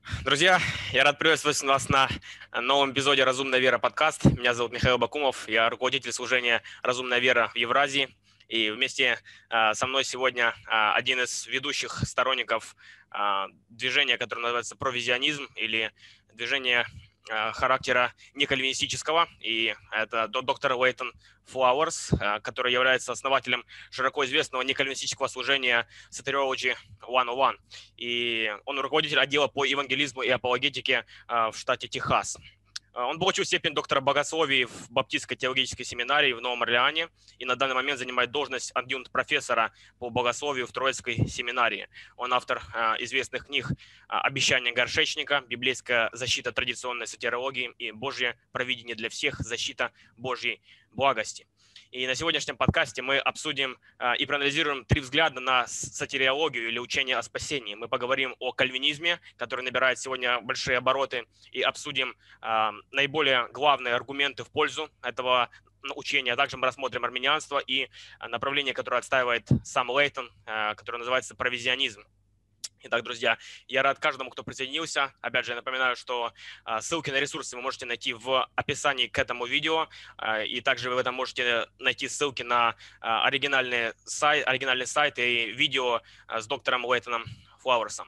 Друзья, я рад приветствовать вас на новом эпизоде «Разумная вера» подкаст. Меня зовут Михаил Бакумов, я руководитель служения «Разумная вера» в Евразии. И вместе со мной сегодня один из ведущих сторонников движения, которое называется провизионизм, или движение характера некальвинистического. И это доктор Лейтон Флауэрс, который является основателем широко известного некальвинистического служения Soteriology 101. И он руководитель отдела по евангелизму и апологетике в штате Техас. Он получил степень доктора богословия в Баптистской теологической семинарии в Новом Орлеане и на данный момент занимает должность адъюнкт-профессора по богословию в Троицкой семинарии. Он автор известных книг «Обещание горшечника», «Библейская защита традиционной сатерологии» и «Божье провидение для всех. Защита Божьей благости». И на сегодняшнем подкасте мы обсудим и проанализируем три взгляда на сатериологию или учение о спасении. Мы поговорим о кальвинизме, который набирает сегодня большие обороты, и обсудим наиболее главные аргументы в пользу этого учения. А также мы рассмотрим армянианство и направление, которое отстаивает сам Лейтон, которое называется провизионизм. Итак, друзья, я рад каждому, кто присоединился. Опять же, я напоминаю, что ссылки на ресурсы вы можете найти в описании к этому видео. И также вы в этом можете найти ссылки на оригинальный сайт и видео с доктором Лейтоном Флауэрсом.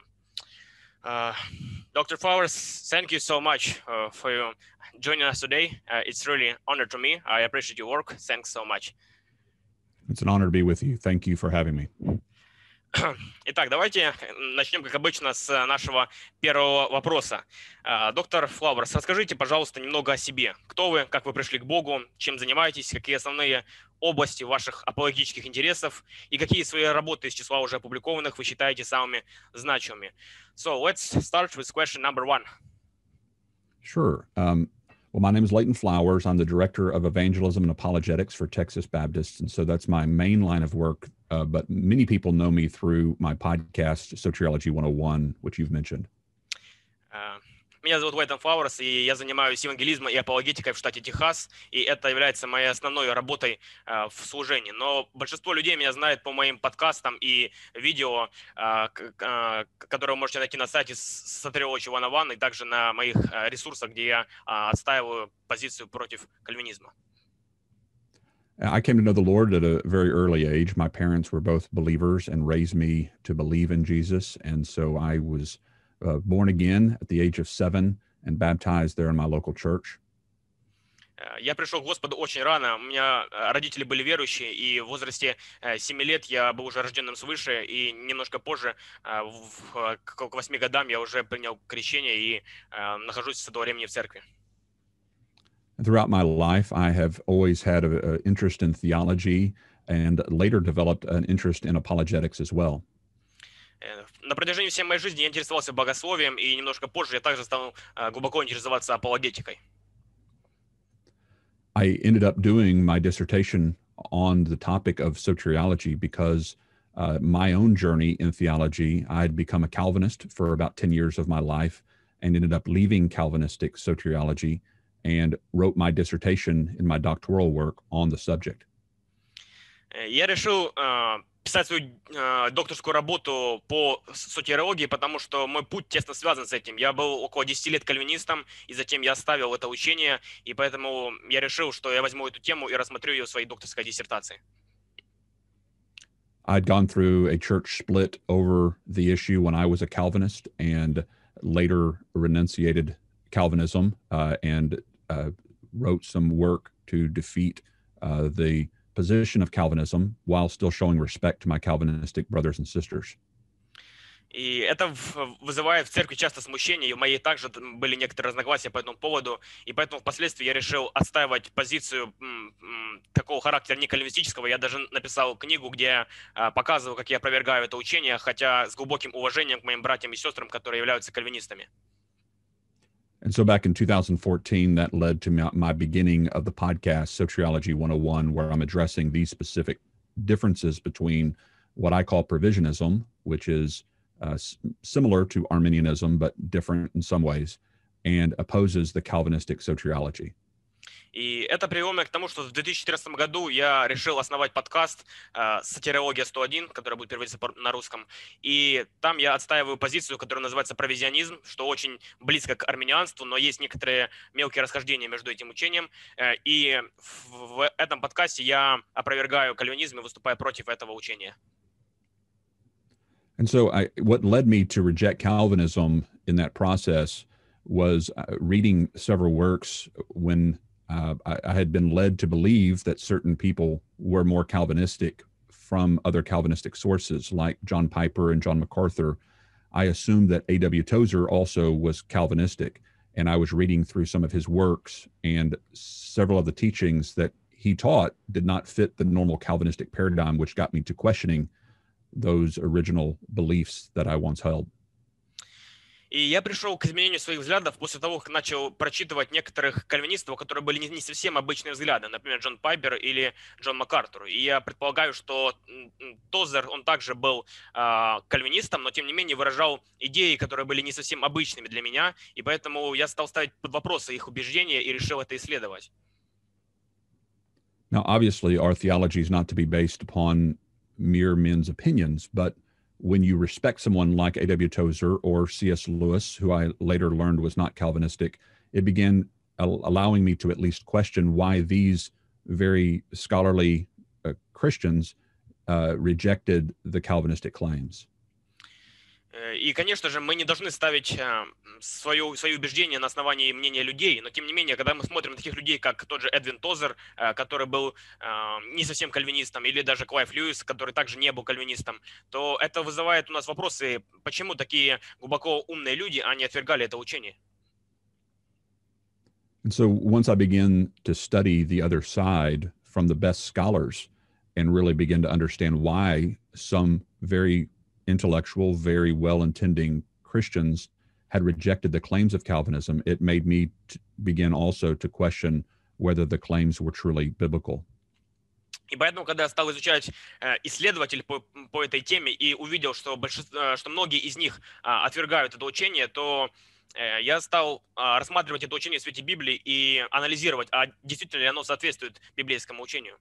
Dr. Flowers, thank you so much for joining us today. It's really an honor to me. I appreciate your work. Thanks so much. It's an honor to be with you. Thank you for having me. Итак, давайте начнем, как обычно, с нашего первого вопроса. Доктор Флауэрс, расскажите, пожалуйста, немного о себе. Кто вы, как вы пришли к Богу, чем занимаетесь, какие основные области ваших апологетических интересов и какие свои работы из числа уже опубликованных вы считаете самыми значимыми. So, let's start with question number one. Sure. Well, my name is Leighton Flowers. I'm the Director of Evangelism and Apologetics for Texas Baptists. And so that's my main line of work. But many people know me through my podcast, Soteriology 101, which you've mentioned. Меня зовут Лейтон Флауэрс, и я занимаюсь евангелизмом и апологетикой в штате Техас, и это является моей основной работой в служении. Но большинство людей меня знает по моим подкастам и видео, которые вы можете найти на сайте Soteriology 101 и также на моих ресурсах, где я отстаиваю позицию против кальвинизма. I came to know the Lord at a very early age. My parents were both believers and raised me to believe in Jesus. And so I was born again at the age of 7 and baptized there in my local church. Я пришел к Господу очень рано. У меня родители были верующие, и в возрасте 7 лет я был уже рожденным свыше, и немножко позже, к 8 годам, я уже принял крещение и нахожусь с этого времени в церкви. Throughout my life, I have always had an interest in theology and later developed an interest in apologetics as well. На протяжении всей моей жизни я интересовался богословием, и немножко позже я также стал глубоко интересоваться апологетикой. I ended up doing my dissertation on the topic of soteriology because my own journey in theology, I had become a Calvinist for about 10 years of my life and ended up leaving Calvinistic soteriology and wrote my dissertation in my doctoral work on the subject. Я решил писать свою докторскую работу по сотериологии, потому что мой путь тесно связан с этим. Я был около 10 лет кальвинистом, и затем я оставил это учение, и поэтому я решил, что я возьму эту тему и рассмотрю ее в своей докторской диссертации. I'd gone through a church split over the issue when I was a Calvinist and later renunciated Calvinism and wrote some work to defeat the position of Calvinism while still showing respect to my Calvinistic brothers and sisters. И это вызывает в церкви часто смущение, и у моей также были некоторые разногласия по этому поводу, и поэтому впоследствии я решил отстаивать позицию такого характера некальвинистического. Я даже написал книгу, где я показываю, как я опровергаю это учение, хотя с глубоким уважением к моим братьям и сестрам, которые являются кальвинистами. And so back in 2014, that led to my beginning of the podcast, Soteriology 101, where I'm addressing these specific differences between what I call provisionism, which is similar to Arminianism, but different in some ways, and opposes the Calvinistic soteriology. И это привело меня к тому, что в 2014 году я решил основать подкаст «Сатирология 101», который будет переводиться на русском. И там я отстаиваю позицию, которая называется провизионизм, что очень близко к армянианству, но есть некоторые мелкие расхождения между этим учением. И в этом подкасте я опровергаю кальвинизм и выступаю против этого учения. And so what led me to reject Calvinism in that process was reading several works when I had been led to believe that certain people were more Calvinistic from other Calvinistic sources, like John Piper and John MacArthur. I assumed that A.W. Tozer also was Calvinistic, and I was reading through some of his works, and several of the teachings that he taught did not fit the normal Calvinistic paradigm, which got me to questioning those original beliefs that I once held. И я пришел к изменению своих взглядов после того, как начал прочитывать некоторых кальвинистов, которые были не совсем обычные взгляды, например, Джон Пайпер или Джон МакАртур. И я предполагаю, что Тозер, он также был кальвинистом, но тем не менее выражал идеи, которые были не совсем обычными для меня, и поэтому я стал ставить под вопрос их убеждения и решил это исследовать. Now, obviously, our theology is not to be based upon mere men's opinions, but when you respect someone like A.W. Tozer or C.S. Lewis, who I later learned was not Calvinistic, it began allowing me to at least question why these very scholarly Christians rejected the Calvinistic claims. И, конечно же, мы не должны ставить свои убеждения на основании мнения людей, но тем не менее, когда мы смотрим на таких людей, как тот же Эдвин Тозер, который был не совсем кальвинистом, или даже Клайв Льюис, который также не был кальвинистом, то это вызывает у нас вопросы, почему такие глубоко умные люди, они отвергали это учение. And so once I began to study the other side from the best scholars and really begin to understand why some very intellectual, very well-intending Christians had rejected the claims of Calvinism, it made me begin also to question whether the claims were truly biblical. И поэтому, когда я стал изучать исследователей по этой теме и увидел, что многие из них отвергают это учение, то я стал рассматривать это учение в свете Библии и анализировать, а действительно ли оно соответствует библейскому учению.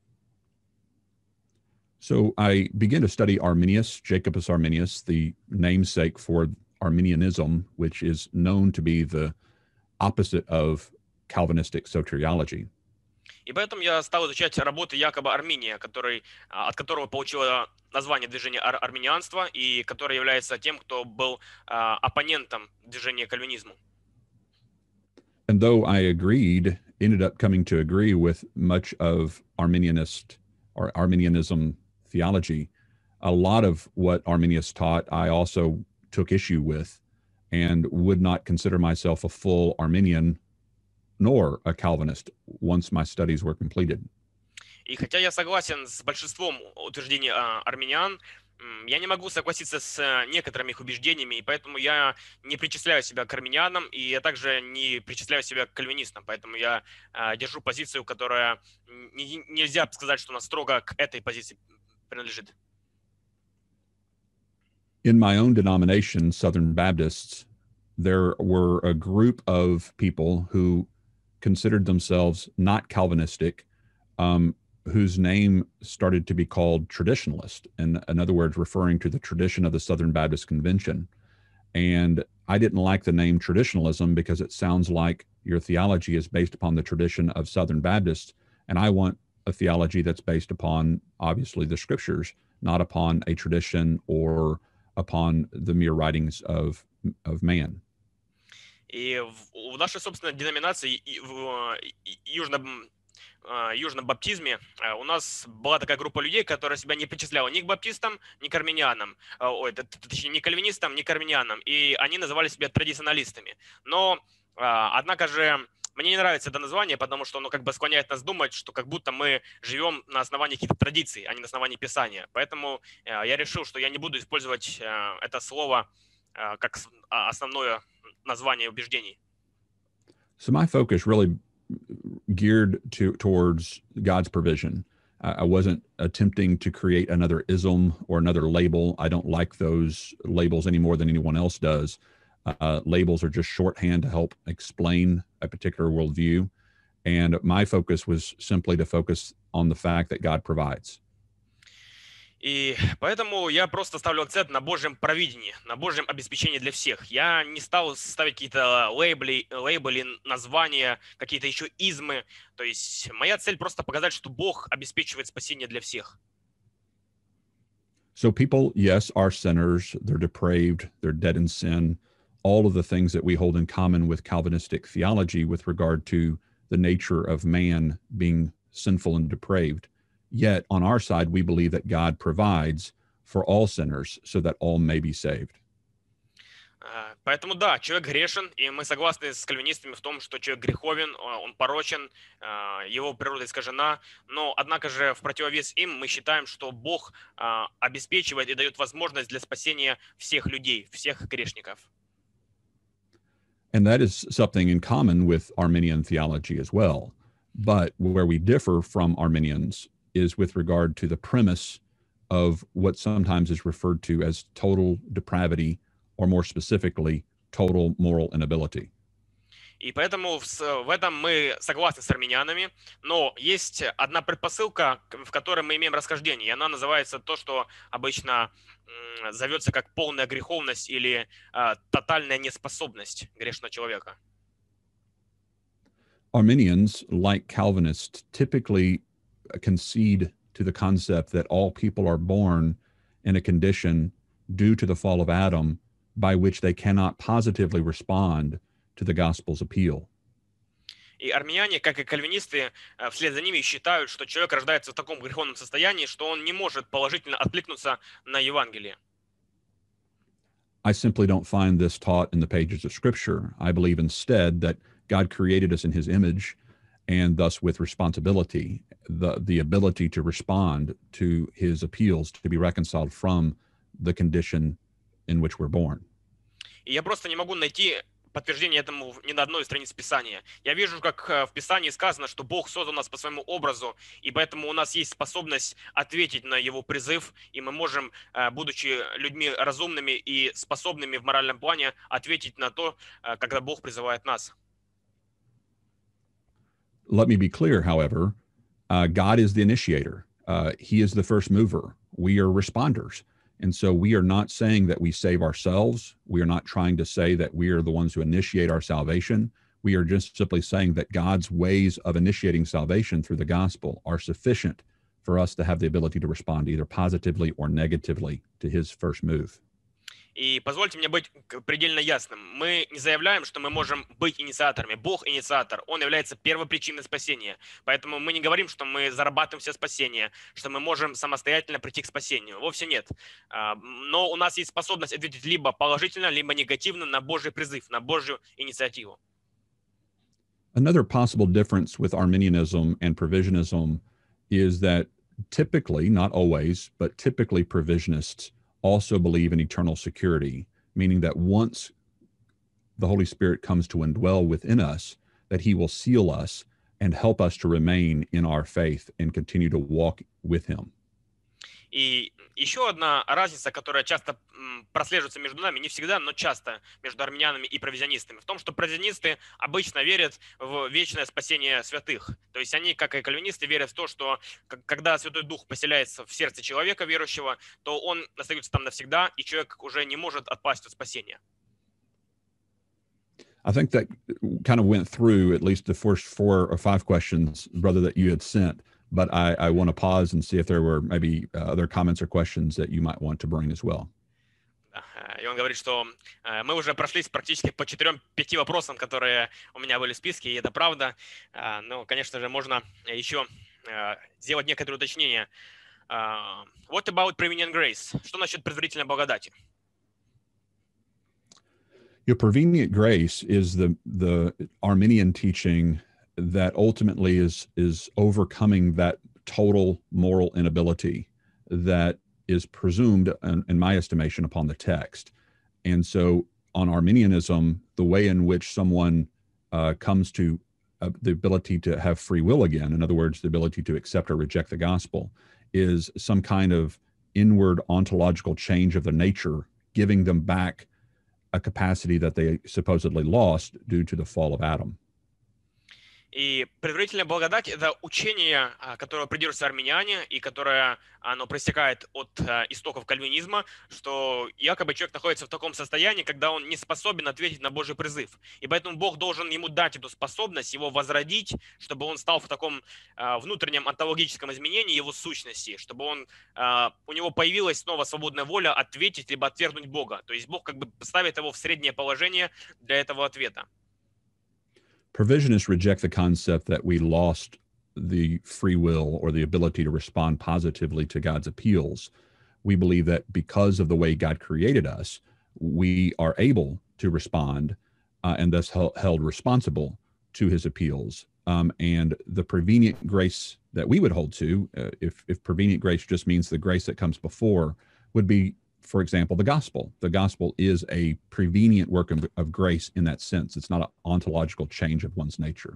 So I began to study Arminius, Jacobus Arminius, the namesake for Arminianism, which is known to be the opposite of Calvinistic soteriology. И поэтому я стал изучать работы Якоба Арминия, от которого получило название движения арминианства и который является тем, кто был оппонентом движения кальвинизму. And though I ended up coming to agree with much of Arminianism theology, a lot of what Arminius taught I also took issue with and would not consider myself a full Arminian nor a Calvinist once my studies were completed. И хотя я согласен с большинством утверждений армян, я не могу согласиться с некоторыми их убеждениями, и поэтому я не причисляю себя к армянам, и я также не причисляю себя к кальвинистам, поэтому я держу позицию, которая нельзя сказать, что она строго к этой позиции принадлежит. In my own denomination, Southern Baptists, there were a group of people who considered themselves not Calvinistic, whose name started to be called traditionalist, and in other words, referring to the tradition of the Southern Baptist Convention. And I didn't like the name traditionalism because it sounds like your theology is based upon the tradition of Southern Baptists, and I want a theology that's based upon, obviously, the scriptures, not upon a tradition or upon the mere writings of man. И в нашей собственной деноминации, в южном баптизме, у нас была такая группа людей, которая себя не причисляла ни к баптистам, ни к армянианам, точнее, ни к кальвинистам, ни к армянианам, и они называли себя традиционалистами. Но, однако же, мне не нравится это название, потому что оно как бы склоняет нас думать, что как будто мы живем на основании каких-то традиций, а не на основании Писания. Поэтому я решил, что я не буду использовать это слово как основное название убеждений. So my focus really geared towards God's provision. I wasn't attempting to create another ism or another label. I don't like those labels any more than anyone else does. Labels are just shorthand to help explain a particular worldview. And my focus was simply to focus on the fact that God provides. И поэтому я просто ставлю акцент на Божьем провидении, на Божьем обеспечении для всех. Я не стал ставить какие-то лейбли, названия, какие-то еще измы. То есть моя цель просто показать, что Бог обеспечивает спасение для всех. So people, yes, are sinners. They're depraved. They're dead in sin. All of the things that we hold in common with Calvinistic theology with regard to the nature of man being sinful and depraved. Yet on our side, we believe that God provides for all sinners so that all may be saved. Поэтому да, человек грешен, и мы согласны с кальвинистами в том, что человек греховен, он порочен, его природа искажена, но однако же в противовес им мы считаем, что Бог обеспечивает и дает возможность для спасения всех людей, всех грешников. And that is something in common with Arminian theology as well. But where we differ from Arminians is with regard to the premise of what sometimes is referred to as total depravity, or more specifically, total moral inability. И поэтому в этом мы согласны с армянянами, но есть одна предпосылка, в которой мы имеем расхождение, и она называется то, что обычно зовется как полная греховность или тотальная неспособность грешного человека. Arminians, like Calvinists, typically concede to the concept that all people are born in a condition due to the fall of Adam by which they cannot positively respond to the gospel's appeal. И армяне, как и кальвинисты, вслед за ними считают, что человек рождается в таком греховном состоянии, что он не может положительно откликнуться на Евангелие. I simply don't find this taught in the pages of Scripture. I believe instead that God created us in his image, and thus with responsibility, the ability to respond to his appeals to be reconciled from the condition in which we're born. И я просто не могу найти подтверждение этому ни на одной из страниц Писания. Я вижу, как в Писании сказано, что Бог создал нас по своему образу, и поэтому у нас есть способность ответить на его призыв, и мы можем, будучи людьми разумными и способными в моральном плане, ответить на то, когда Бог призывает нас. Let me be clear, however, God is the initiator. He is the first mover. We are responders. And so we are not saying that we save ourselves. We are not trying to say that we are the ones who initiate our salvation. We are just simply saying that God's ways of initiating salvation through the gospel are sufficient for us to have the ability to respond either positively or negatively to his first move. И позвольте мне быть предельно ясным. Мы не заявляем, что мы можем быть инициаторами. Бог инициатор. Он является первопричиной спасения. Поэтому мы не говорим, что мы зарабатываем все спасение, что мы можем самостоятельно прийти к спасению. Вовсе нет. Но у нас есть способность ответить либо положительно, либо негативно на Божий призыв, на Божью инициативу. Another possible difference with Arminianism and provisionism is that typically, not always, but typically provisionists also believe in eternal security, meaning that once the Holy Spirit comes to indwell within us, that he will seal us and help us to remain in our faith and continue to walk with him. И еще одна разница, которая часто прослеживается между нами, не всегда, но часто между армянами и провизионистами, в том, что провизионисты обычно верят в вечное спасение святых. То есть они, как и кальвинисты, верят в то, что когда Святой Дух поселяется в сердце человека верующего, то он остается там навсегда, и человек уже не может отпасть от спасения. I think that kind of went through at least the first 4 or 5 questions, brother, that you had sent. But I want to pause and see if there were maybe other comments or questions that you might want to bring as well. И он говорит, что мы уже прошлись практически по 4-5 вопросам, которые у меня были в списке, и это правда. Но, конечно же, можно еще сделать некоторые уточнения. What about prevenient grace? Что насчет предварительной благодати? Your prevenient grace is the Arminian teaching that ultimately is overcoming that total moral inability that is presumed, in my estimation, upon the text. And so on Arminianism, the way in which someone comes to the ability to have free will again, in other words, the ability to accept or reject the gospel, is some kind of inward ontological change of their nature, giving them back a capacity that they supposedly lost due to the fall of Adam. И предварительная благодать– это учение, которого придерживаются армяне, и которое оно проистекает от истоков кальвинизма, что якобы человек находится в таком состоянии, когда он не способен ответить на Божий призыв. И поэтому Бог должен ему дать эту способность, его возродить, чтобы он стал в таком внутреннем онтологическом изменении его сущности, чтобы у него появилась снова свободная воля ответить либо отвергнуть Бога. То есть Бог как бы ставит его в среднее положение для этого ответа. Provisionists reject the concept that we lost the free will or the ability to respond positively to God's appeals. We believe that because of the way God created us, we are able to respond and thus held responsible to his appeals. And the prevenient grace that we would hold to, if prevenient grace just means the grace that comes before, would be, for example, the gospel. The gospel is a prevenient work of grace in that sense. It's not an ontological change of one's nature.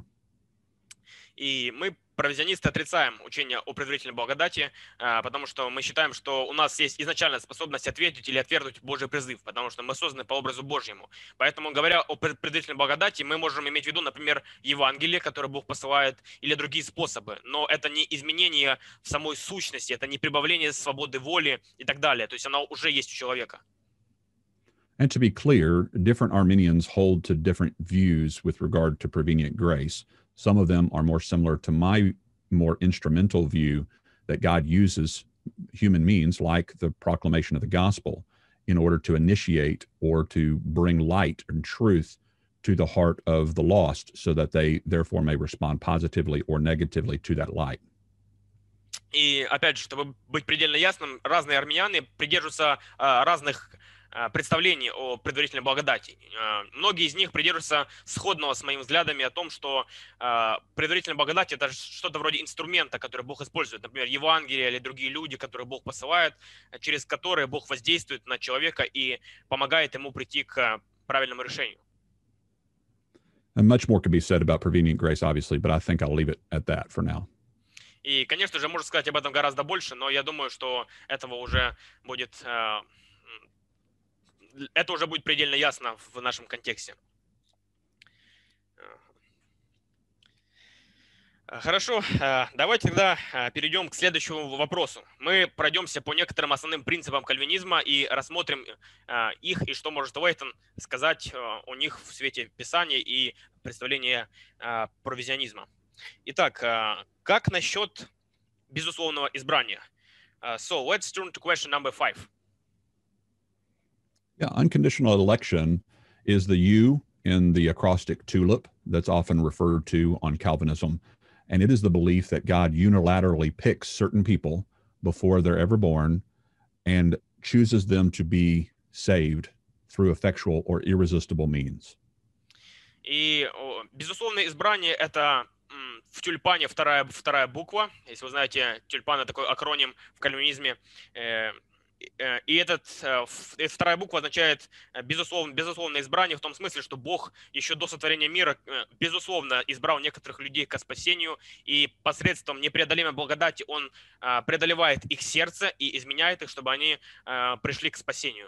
И мы, провизионисты, отрицаем учение о предварительной благодати, потому что мы считаем, что у нас есть изначальная способность ответить или отвергнуть Божий призыв, потому что мы созданы по образу Божьему. Поэтому, говоря о предварительной благодати, мы можем иметь в виду, например, Евангелие, которое Бог посылает, или другие способы. Но это не изменение в самой сущности, это не прибавление свободы воли и так далее. То есть оно уже есть у человека. And to be clear, different Arminians hold to different views with regard to prevenient grace. Some of them are more similar to my more instrumental view that God uses human means like the proclamation of the gospel in order to initiate or to bring light and truth to the heart of the lost so that they therefore may respond positively or negatively to that light. И опять же, чтобы быть предельно ясным, разные армяне придерживаются разных представлений о предварительной благодати. Многие из них придерживаются сходного с моими взглядами о том, что предварительная благодать – это что-то вроде инструмента, который Бог использует. Например, Евангелие или другие люди, которые Бог посылает, через которые Бог воздействует на человека и помогает ему прийти к правильному решению. And much more could be said about prevenient grace, obviously, but I think I'll leave it at that for now. И, конечно же, можно сказать об этом гораздо больше, но я думаю, что этого уже будет... Это уже будет предельно ясно в нашем контексте. Хорошо, давайте тогда перейдем к следующему вопросу. Мы пройдемся по некоторым основным принципам кальвинизма и рассмотрим их, и что может Уэйтон сказать о них в свете Писания и представления провизионизма. Итак, как насчет безусловного избрания? So let's turn to question number 5. Yeah, unconditional election is the U in the acrostic TULIP that's often referred to on Calvinism. And it is the belief that God unilaterally picks certain people before they're ever born and chooses them to be saved through effectual or irresistible means. И безусловное избрание – это в тюльпане вторая буква. Если вы знаете, тюльпан – это такой акроним в кальвинизме. И эта вторая буква означает безусловное избрание в том смысле, что Бог еще до сотворения мира безусловно избрал некоторых людей к спасению, и посредством непреодолимой благодати Он преодолевает их сердце и изменяет их, чтобы они пришли к спасению.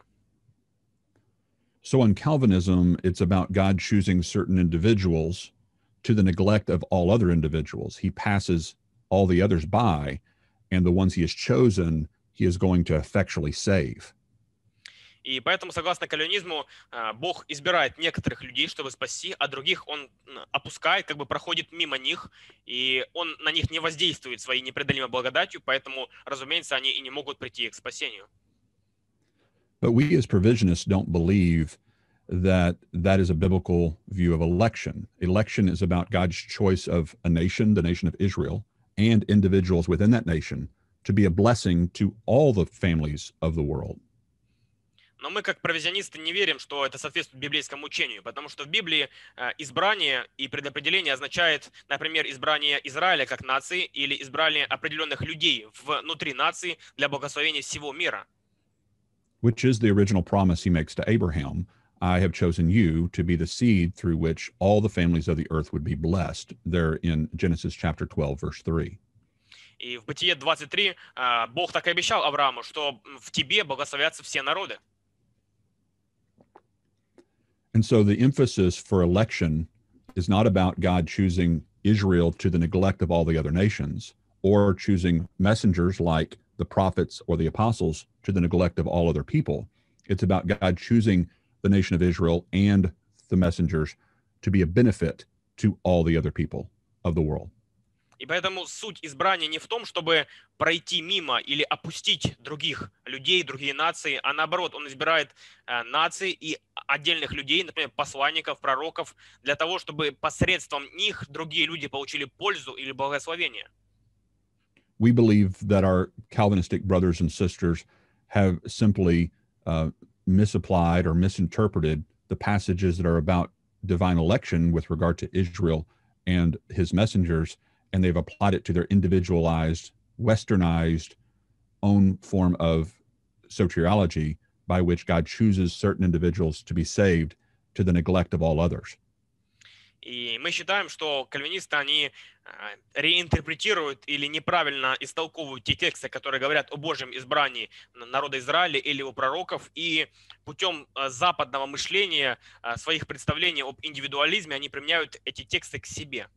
So in Calvinism, it's about God choosing certain individuals to the neglect of all other individuals. He passes all the others by, and the ones he has chosen he is going to effectually save. И поэтому, согласно кальвинизму, Бог избирает некоторых людей, чтобы спасти, а других Он опускает, как бы проходит мимо них, и Он на них не воздействует своей непреодолимой благодатью, поэтому, разумеется, они и не могут прийти к спасению. But we as provisionists don't believe that that is a biblical view of election. Election is about God's choice of a nation, the nation of Israel, and individuals within that nation to be a blessing to all the families of the world. Но мы, как провизионисты, не верим, что это соответствует библейскому учению, потому что в Библии избрание и предопределение означает, например, избрание Израиля как нации или избрание определенных людей внутри нации для благословения всего мира. Which is the original promise he makes to Abraham. I have chosen you to be the seed through which all the families of the earth would be blessed. There in Genesis chapter 12, verse 3. И в Бытие 23 Бог так и обещал Аврааму, что в тебе благословятся все народы. And so the emphasis for election is not about God choosing Israel to the neglect of all the other nations, or choosing messengers like the prophets or the apostles to the neglect of all other people. It's about God choosing the nation of Israel and the messengers to be a benefit to all the other people of the world. И поэтому суть избрания не в том, чтобы пройти мимо или опустить других людей, другие нации, а наоборот, он избирает нации и отдельных людей, например, посланников, пророков, для того, чтобы посредством них другие люди получили пользу или благословение. We believe that our Calvinistic brothers and sisters have simply misapplied or misinterpreted the passages that are about divine election with regard to Israel and his messengers, and they've applied it to their individualized, westernized own form of soteriology by which God chooses certain individuals to be saved to the neglect of all others. И мы считаем, что кальвинисты, они реинтерпретируют или неправильно истолковывают те тексты, которые говорят о Божьем избрании народа Израиля или у пророков, и путем западного мышления, своих представлений об индивидуализме, они применяют эти тексты к себе.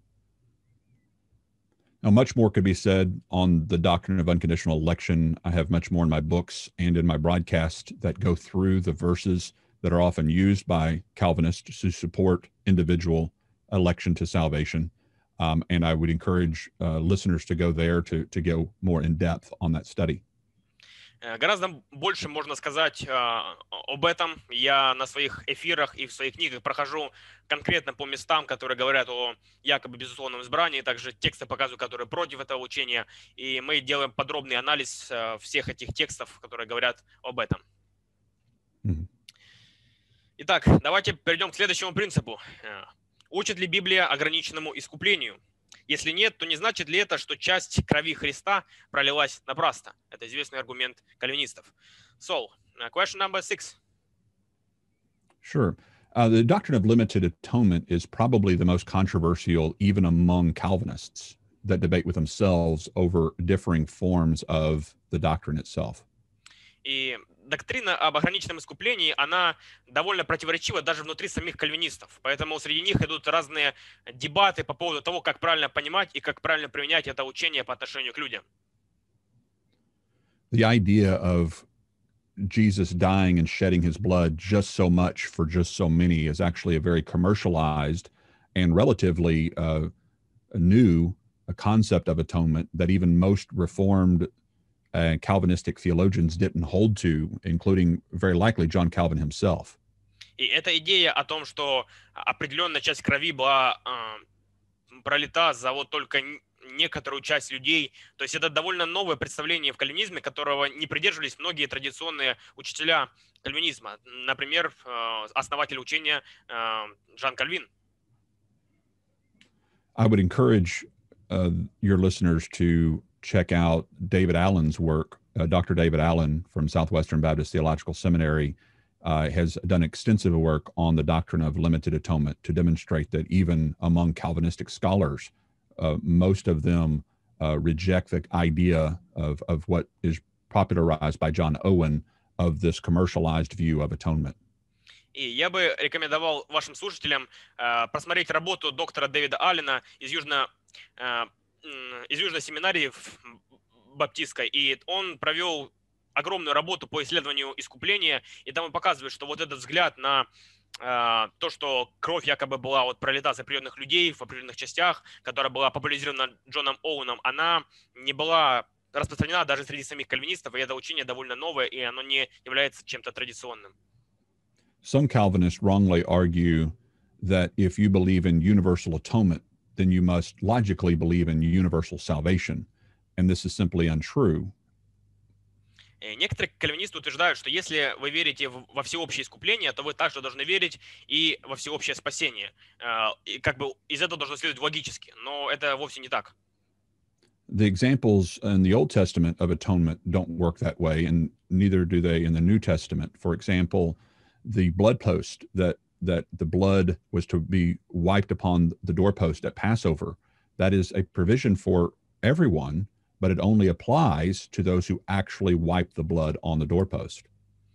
Now, much more could be said on the doctrine of unconditional election. I have much more in my books and in my broadcast that go through the verses that are often used by Calvinists to support individual election to salvation. And I would encourage listeners to go there to go more in depth on that study. Гораздо больше можно сказать об этом. Я на своих эфирах и в своих книгах прохожу конкретно по местам, которые говорят о якобы безусловном избрании, также тексты показываю, которые против этого учения, и мы делаем подробный анализ всех этих текстов, которые говорят об этом. Итак, давайте перейдем к следующему принципу. Учит ли Библия ограниченному искуплению? Если нет, то не значит ли это, что часть крови Христа пролилась напрасно? Это известный аргумент кальвинистов. So, question number 6. Sure. The doctrine of limited atonement is probably the most controversial even among Calvinists that debate with themselves over differing forms of the doctrine itself. И доктрина об ограниченном искуплении, она довольно противоречива даже внутри самих кальвинистов. Поэтому среди них идут разные дебаты по поводу того, как правильно понимать и как правильно применять это учение по отношению к людям. The idea of Jesus dying and shedding his blood just so much for just so many is actually a very commercialized and relatively new concept of atonement that even most Reformed Calvinistic theologians didn't hold to, including very likely John Calvin himself. И эта идея о том, что определенная часть крови была пролита за вот только некоторую часть людей, то есть это довольно новое представление в кальвинизме, которого не придерживались многие традиционные учителя кальвинизма. Например, основатель учения Жан Кальвин. I would encourage your listeners to check out David Allen's work. Dr. David Allen from Southwestern Baptist Theological Seminary has done extensive work on the doctrine of limited atonement to demonstrate that even among Calvinistic scholars, most of them reject the idea of what is popularized by John Owen of this commercialized view of atonement. И я бы рекомендовал вашим слушателям просмотреть работу доктора Дэвида Аллена из Южной семинарии баптистской, и он провел огромную работу по исследованию искупления, и там он показывает, что вот этот взгляд на то, что кровь якобы была вот пролита с определенных людей в определенных частях, которая была популяризирована Джоном Оуэном, она не была распространена даже среди самих кальвинистов, и это учение довольно новое, и оно не является чем-то традиционным. Some Calvinists wrongly argue that if you believe in universal atonement, then you must logically believe in universal salvation. And this is simply untrue. Некоторые кальвинисты утверждают, что если вы верите во всеобщее искупление, то вы также должны верить и во всеобщее спасение. И как бы из этого должно следовать логически, но это вовсе не так. The examples in the Old Testament of atonement don't work that way, and neither do they in the New Testament. For example, the blood post that the blood was to be wiped upon the doorpost at Passover, that is a provision for everyone, but it only applies to those who actually wipe the blood on the doorpost.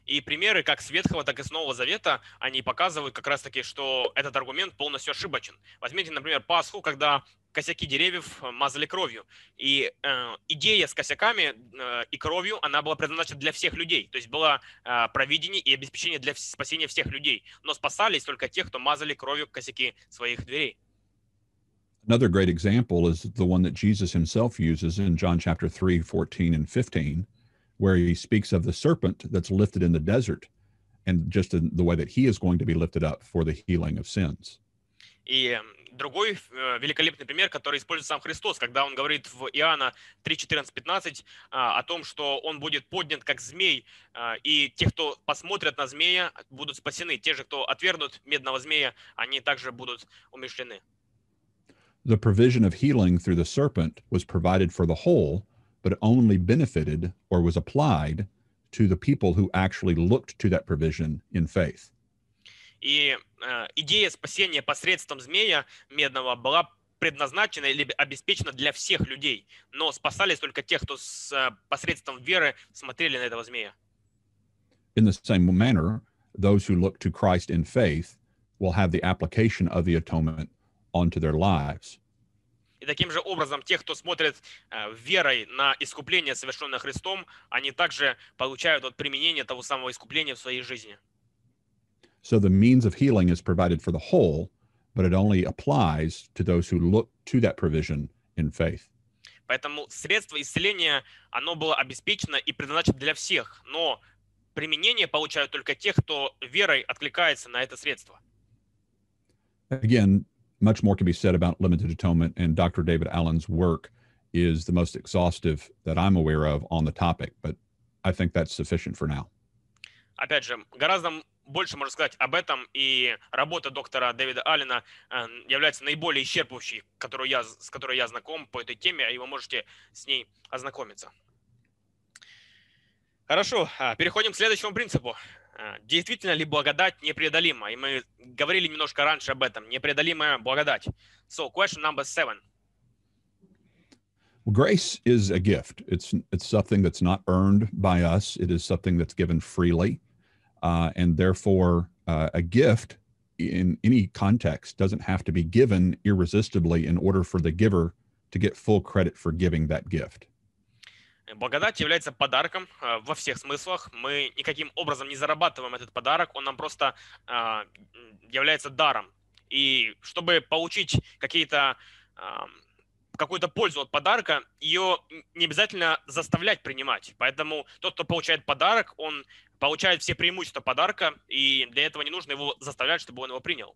И примеры как с Ветхого, так и с Нового Завета, они показывают как раз-таки, что этот аргумент полностью ошибочен. Возьмите, например, Пасху, когда косяки деревьев мазали кровью. И идея с косяками и кровью, она была предназначена для всех людей. То есть было провидение и обеспечение для спасения всех людей. Но спасались только те, кто мазали кровью косяки своих дверей. Another great example is the one that Jesus himself uses in John chapter 3, 14 and 15, where he speaks of the serpent that's lifted in the desert and just in the way that he is going to be lifted up for the healing of sins. И другой великолепный пример, который использует сам Христос, когда он говорит в Иоанна 3, 14, 15 о том, что он будет поднят как змей, и те, кто посмотрят на змея, будут спасены. Те же, кто отвергнут медного змея, они также будут умерщвлены. The provision of healing through the serpent was provided for the whole, but it only benefited or was applied to the people who actually looked to that provision in faith. И идея спасения посредством змея медного была предназначена или обеспечена для всех людей, но спасались только те, кто посредством веры смотрели на этого змея. In the same manner, those who look to Christ in faith will have the application of the atonement onto their lives. И таким же образом, те, кто смотрит верой на искупление, совершенное Христом, они также получают от применения того самого искупления в своей жизни. So the means of healing is provided for the whole, but it only applies to those who look to that provision in faith. Поэтому средство исцеления, оно было обеспечено и предназначено для всех, но применение получают только те, кто верой откликается на это средство. Again, much more can be said about limited atonement, and Dr. David Allen's work is the most exhaustive that I'm aware of on the topic, but I think that's sufficient for now. Опять же, гораздо больше можно сказать об этом, и работа доктора Дэвида Аллена является наиболее исчерпывающей, с которой я знаком по этой теме, и вы можете с ней ознакомиться. Хорошо, переходим к следующему принципу. Действительно ли благодать непреодолима? И мы говорили немножко раньше об этом. Непреодолимая благодать. So, question number 7. Well, grace is a gift. It's something that's not earned by us. It is something that's given freely. And therefore, a gift in any context doesn't have to be given irresistibly in order for the giver to get full credit for giving that gift. Благодать является подарком во всех смыслах. Мы никаким образом не зарабатываем этот подарок, он нам просто является даром. И чтобы получить какую-то пользу от подарка, ее не обязательно заставлять принимать. Поэтому тот, кто получает подарок, он получает все преимущества подарка, и для этого не нужно его заставлять, чтобы он его принял.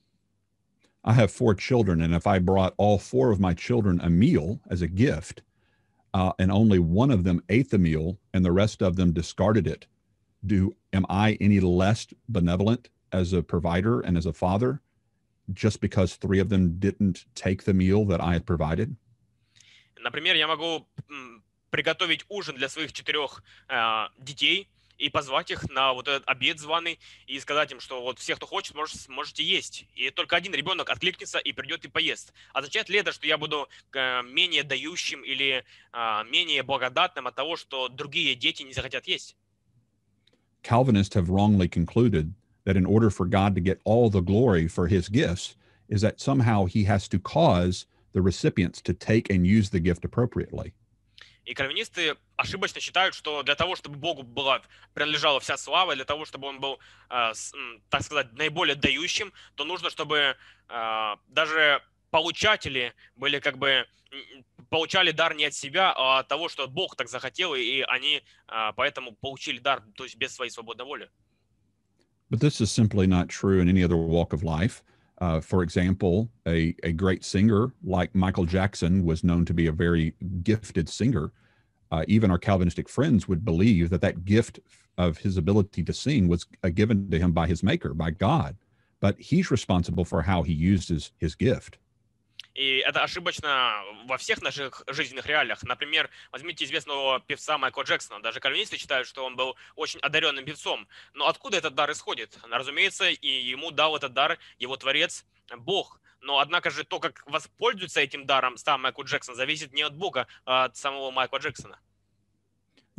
I have 4 children, and if I brought all 4 of my children a meal as a gift, and only one of them ate the meal and the rest of them discarded it, am I any less benevolent as a provider and as a father just because 3 of them didn't take the meal that I had provided? Например, я могу приготовить ужин для своих 4 детей и позвать их на вот этот обед званый и сказать им, что вот все, кто хочет, можете есть. И только один ребенок откликнется и придет и поест. Означает ли это, что я буду менее дающим или менее благодатным от того, что другие дети не захотят есть? Calvinists have wrongly concluded that in order for God to get all the glory for his gifts is that somehow he has to cause the recipients to take and use the gift appropriately. И кальвинисты ошибочно считают, что для того, чтобы Богу принадлежала вся слава, для того, чтобы он был, так сказать, наиболее дающим, то нужно, чтобы даже получатели были получали дар не от себя, а от того, что Бог так захотел, и они поэтому получили дар, то есть без своей свободной воли. But this is simply not true in any other walk of life. For example, a great singer like Michael Jackson was known to be a very gifted singer. Even our Calvinistic friends would believe that gift of his ability to sing was given to him by his maker, by God. But he's responsible for how he used his gift. И это ошибочно во всех наших жизненных реалиях. Например, возьмите известного певца Майкла Джексона. Даже кальвинисты считают, что он был очень одаренным певцом. Но откуда этот дар исходит? Разумеется, и ему дал этот дар его творец Бог. Но однако же то, как воспользуется этим даром сам Майкл Джексон, зависит не от Бога, а от самого Майкла Джексона.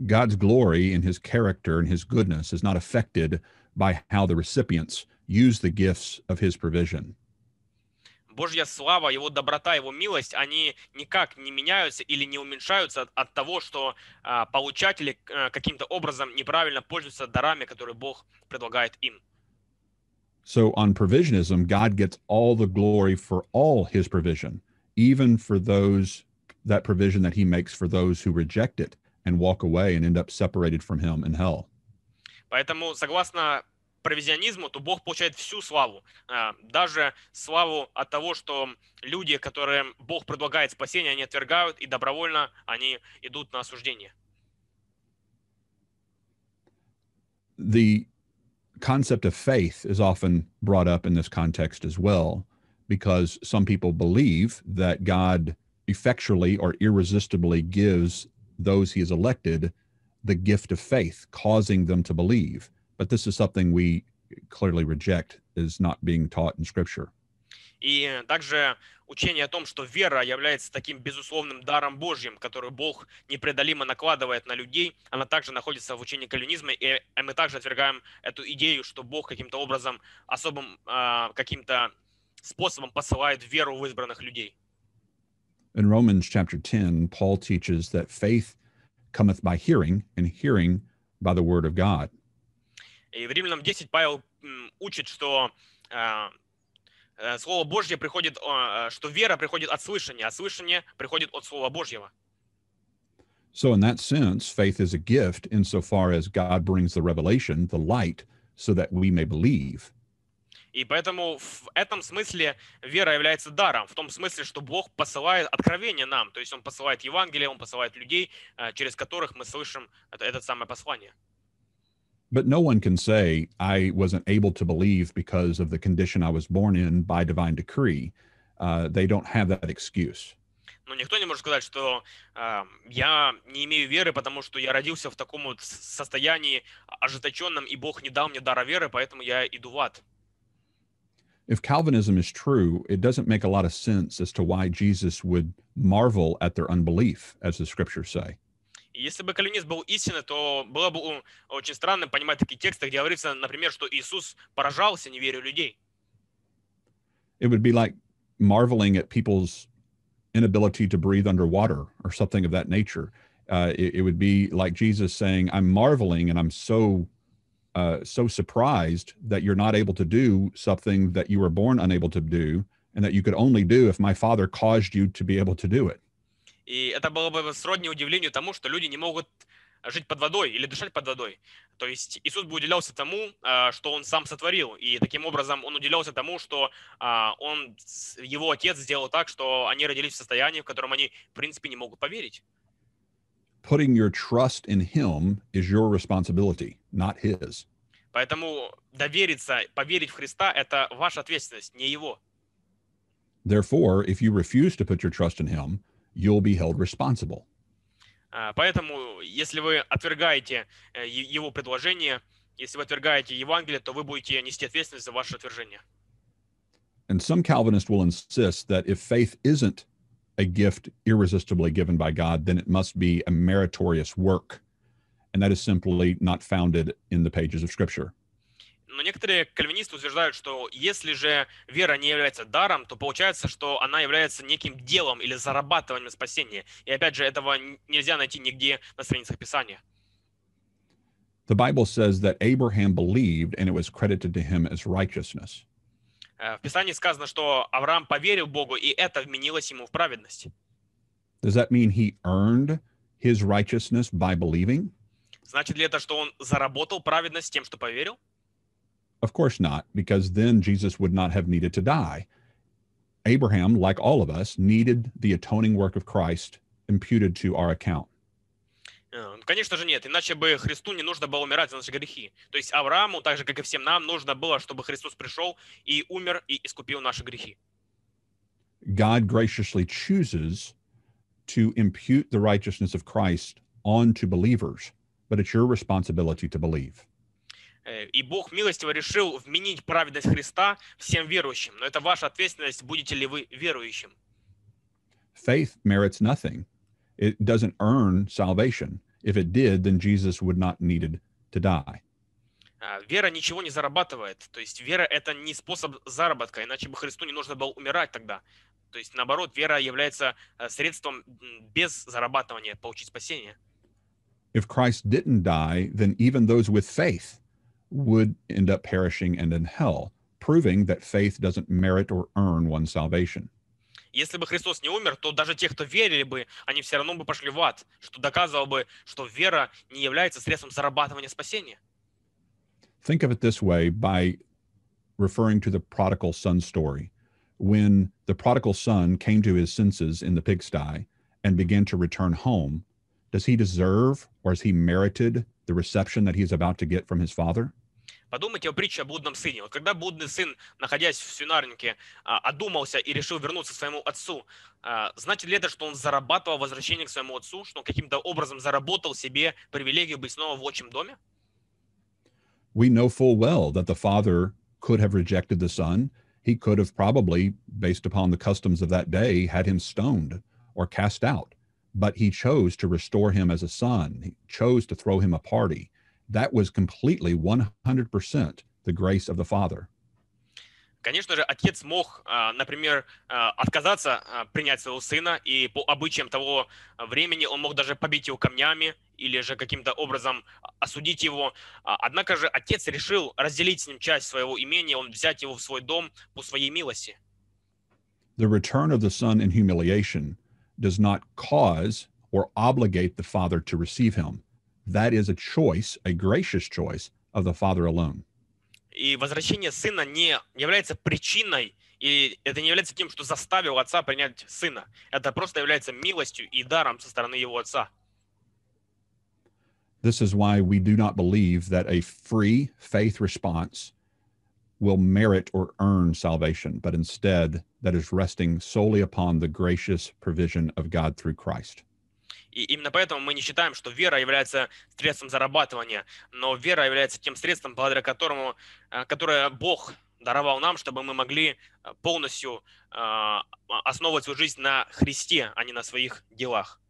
God's glory and his character and his goodness is not affected by how the recipients use the gifts of his provision. Божья слава, Его доброта, Его милость, они никак не меняются или не уменьшаются от того, что получатели каким-то образом неправильно пользуются дарами, которые Бог предлагает им. So on provisionism, God gets all the glory for all his provision, even for that provision that he makes for those who reject it and walk away and end up separated from him in hell. Поэтому, согласно провизионизму, то Бог получает всю славу. Даже славу от того, что люди, которым Бог предлагает спасение, они отвергают, и добровольно они идут на осуждение. The concept of faith is often brought up in this context as well, because some people believe that God effectually or irresistibly gives those he has elected the gift of faith, causing them to believe. But this is something we clearly reject, is not being taught in Scripture. И также учение о том, что вера является таким безусловным даром Божьим, который Бог непреодолимо накладывает на людей, она также находится в учении кальвинизма, и мы также отвергаем эту идею, что Бог каким-то образом, особым каким-то способом посылает веру в избранных людей. In Romans chapter 10, Paul teaches that faith cometh by hearing, and hearing by the word of God. И в Римлянам 10 Павел учит, что Слово Божье приходит, что вера приходит от слышания, а слышание приходит от Слова Божьего. So in that sense, faith is a gift insofar as God brings the revelation, the light, so that we may believe. И поэтому в этом смысле вера является даром, в том смысле, что Бог посылает откровение нам, то есть Он посылает Евангелие, Он посылает людей, через которых мы слышим это самое послание. But no one can say, I wasn't able to believe because of the condition I was born in by divine decree. They don't have that excuse. Но никто не может сказать, что я не имею веры, потому что я родился в таком вот состоянии ожесточенном, и Бог не дал мне дара веры, поэтому я иду в ад. If Calvinism is true, it doesn't make a lot of sense as to why Jesus would marvel at their unbelief, as the scriptures say. И если бы кальвинизм был истинный, то было бы очень странно понимать такие тексты, где говорится, например, что Иисус поражался неверию людей. It would be like marveling at people's inability to breathe underwater or something of that nature. It would be like Jesus saying, I'm marveling and I'm so surprised that you're not able to do something that you were born unable to do and that you could only do if my Father caused you to be able to do it. И это было бы сродни удивлению тому, что люди не могут жить под водой или дышать под водой. То есть Иисус бы уделялся тому, что Он сам сотворил. И таким образом Он уделялся тому, что Его Отец сделал так, что они родились в состоянии, в котором они, в принципе, не могут поверить. Putting your trust in Him is your responsibility, not His. Поэтому довериться, поверить в Христа – это ваша ответственность, не Его. Therefore, if you refuse to put your trust in Him, you'll be held responsible. Поэтому, если вы отвергаете Его предложение, если вы отвергаете Евангелие, то вы будете нести ответственность за ваше отвержение. And some Calvinists will insist that if faith isn't a gift irresistibly given by God, then it must be a meritorious work. And that is simply not founded in the pages of Scripture. Но некоторые кальвинисты утверждают, что если же вера не является даром, то получается, что она является неким делом или зарабатыванием спасения. И опять же, этого нельзя найти нигде на страницах Писания. The Bible says that Abraham believed and it was credited to him as righteousness. В Писании сказано, что Авраам поверил Богу, и это вменилось ему в праведность. Does that mean he earned his righteousness by believing? Значит ли это, что он заработал праведность тем, что поверил? Of course not, because then Jesus would not have needed to die. Abraham, like all of us, needed the atoning work of Christ imputed to our account. Конечно же нет, иначе бы Христу не нужно было умирать за наши грехи. То есть Аврааму, так же как и всем нам, нужно было, чтобы Христос пришел и умер и искупил наши грехи. God graciously chooses to impute the righteousness of Christ onto believers, but it's your responsibility to believe. И Бог милостиво решил вменить праведность Христа всем верующим. Но это ваша ответственность, будете ли вы верующим. Faith merits nothing. It doesn't earn salvation. If it did, then Jesus would not needed to die. Вера ничего не зарабатывает. То есть вера – это не способ заработка, иначе бы Христу не нужно было умирать тогда. То есть наоборот, вера является средством без зарабатывания получить спасение. If Christ didn't die, then even those with faith would end up perishing and in hell, proving that faith doesn't merit or earn one's salvation. Если бы Христос не умер, то даже те, кто верили бы, они все равно бы пошли в ад, что доказывало бы, что вера не является средством зарабатывания спасения. Think of it this way by referring to the prodigal son story. When the prodigal son came to his senses in the pigsty and began to return home, does he deserve or has he merited the reception that he's about to get from his father? Подумайте о притче о блудном сыне. Вот когда блудный сын, находясь в свинарнике, одумался и решил вернуться к своему отцу, значит ли это, что он зарабатывал возвращение к своему отцу, что он каким-то образом заработал себе привилегию быть снова в отчим доме? We know full well that the father could have rejected the son. He could have probably, based upon the customs of that day, had him stoned or cast out. But he chose to restore him as a son. He chose to throw him a party. That was completely 100% the grace of the Father. Конечно же, отец мог, например, отказаться принять своего сына, и по обычаям того времени он мог даже побить его камнями или же каким-то образом осудить его. Однако же отец решил разделить с ним часть своего имения, он взять его в свой дом по своей милости. The return of the son in humiliation does not cause or obligate the Father to receive him. That is a choice, a gracious choice of the Father alone. И возвращение сына не является причиной, и это не является тем, что заставил отца принять сына. Это просто является милостью и даром со стороны его отца. This is why we do not believe that a free faith response will merit or earn salvation, but instead that is resting solely upon the gracious provision of God through Christ. И именно поэтому мы не считаем, что вера является средством зарабатывания, но вера является тем средством, благодаря которому, которое Бог даровал нам, чтобы мы могли полностью основывать свою жизнь на Христе, а не на своих делах.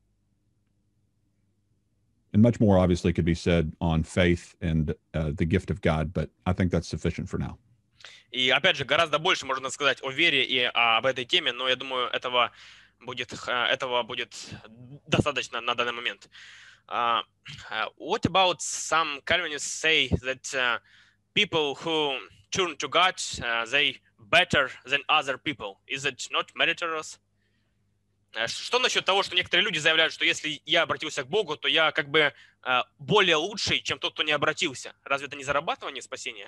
And much more obviously could be said on faith and the gift of God, but I think that's sufficient for now. И опять же, гораздо больше можно сказать о вере и об этой теме, но я думаю, этого будет достаточно на данный момент. What about some Calvinists say that people who turn to God, they better than other people? Is it not meritorious? Что насчет того, что некоторые люди заявляют, что если я обратился к Богу, то я как бы более лучший, чем тот, кто не обратился? Разве это не зарабатывание спасения?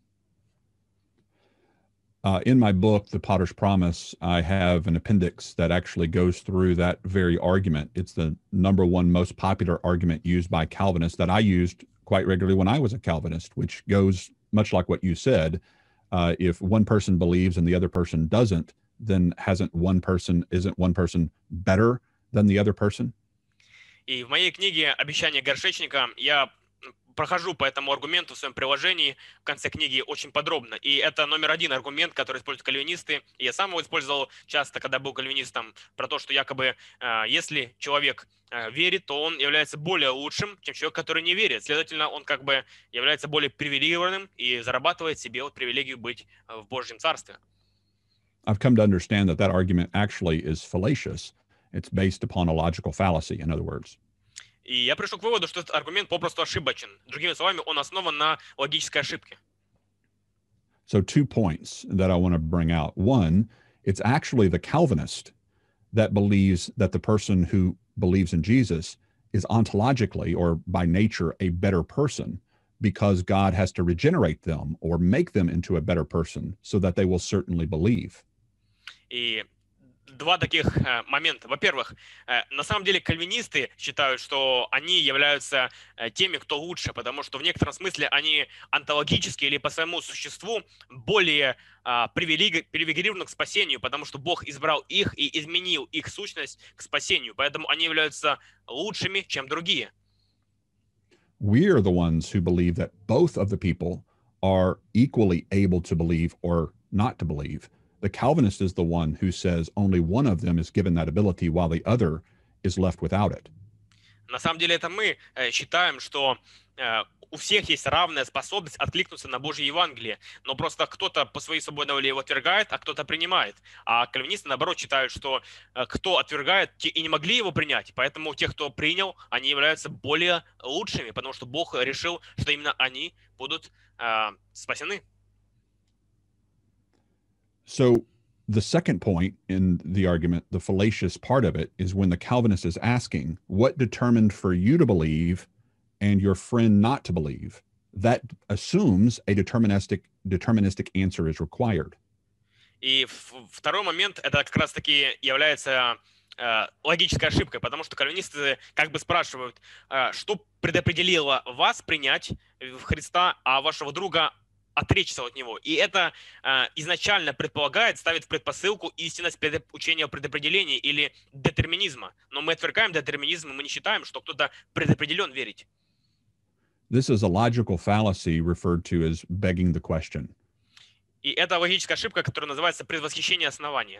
In my book, The Potter's Promise, I have an appendix that actually goes through that very argument. It's the number one most popular argument used by Calvinists that I used quite regularly when I was a Calvinist, which goes much like what you said. If one person believes and the other person doesn't, then isn't one person better than the other person? И в моей книге «Обещание горшечника» я прохожу по этому аргументу в своем приложении в конце книги очень подробно. И это номер один аргумент, который используют кальвинисты. И я сам его использовал часто, когда был кальвинистом, про то, что якобы если человек верит, то он является более лучшим, чем человек, который не верит. Следовательно, он как бы является более привилегированным и зарабатывает себе вот привилегию быть в Божьем Царстве. I've come to understand that argument actually is fallacious. It's based upon a logical fallacy, in other words. И я пришел к выводу, что этот аргумент попросту ошибочен. Другими словами, он основан на логической ошибке. So 2 points that I want to bring out. One, it's actually the Calvinist that believes that the person who believes in Jesus is ontologically or by nature a better person because God has to regenerate them or make them into a better person so that they will certainly believe. И два таких момента. Во-первых, на самом деле кальвинисты считают, что они являются теми, кто лучше, потому что в некотором смысле они онтологически или по своему существу более привилегированы к спасению, потому что Бог избрал их и изменил их сущность к спасению, поэтому они являются лучшими, чем другие. We are the ones who believe that both of the people are equally able to believe or not to believe. The Calvinist is the one who says only one of them is given that ability while the other is left without it. На самом деле это мы считаем, что у всех есть равная способность откликнуться на Божье Евангелие, но просто кто-то по своей свободной воле его отвергает, а кто-то принимает. А кальвинисты, наоборот, считают, что кто отвергает, те и не могли его принять, поэтому тех, кто принял, они являются более лучшими, потому что Бог решил, что именно они будут спасены. So the second point in the argument, the fallacious part of it, is when the Calvinist is asking, what determined for you to believe and your friend not to believe? That assumes a deterministic answer is required. И второй момент, это как раз-таки является логической ошибкой, потому что кальвинисты как бы спрашивают, что предопределило вас принять в Христа, а вашего друга отречься от него. И это изначально предполагает, ставит в предпосылку истинность учения о предопределении или детерминизма. Но мы отвергаем детерминизм, и мы не считаем, что кто-то предопределен верить. This is a logical fallacy referred to as begging the question. И это логическая ошибка, которая называется предвосхищение основания.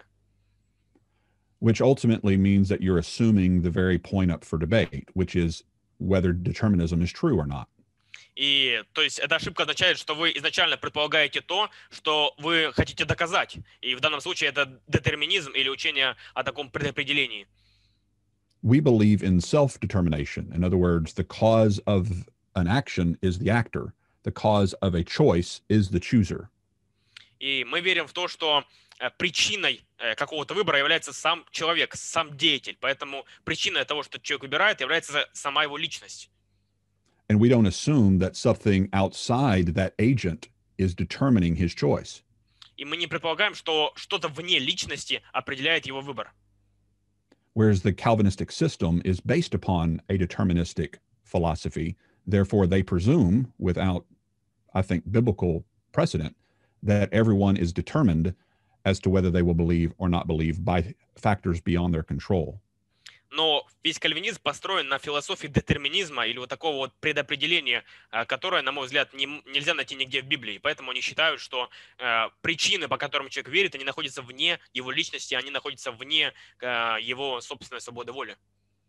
Which ultimately means that you're assuming the very point up for debate, which is whether determinism is true or not. И то есть эта ошибка означает, что вы изначально предполагаете то, что вы хотите доказать. И в данном случае это детерминизм или учение о таком предопределении. We believe in self-determination. In other words, the cause of an action is the actor. The cause of a choice is the chooser. И мы верим в то, что причиной какого-то выбора является сам человек, сам деятель. Поэтому причиной того, что человек выбирает, является сама его личность. And we don't assume that something outside that agent is determining his choice. И мы не предполагаем, что что-то вне личности определяет его выбор. Whereas the Calvinistic system is based upon a deterministic philosophy. Therefore, they presume, without, I think, biblical precedent, that everyone is determined as to whether they will believe or not believe by factors beyond their control. Но весь кальвинизм построен на философии детерминизма или вот такого вот предопределения, которое, на мой взгляд, нельзя найти нигде в Библии. Поэтому они считают, что причины, по которым человек верит, они находятся вне его личности, они находятся вне его собственной свободы воли.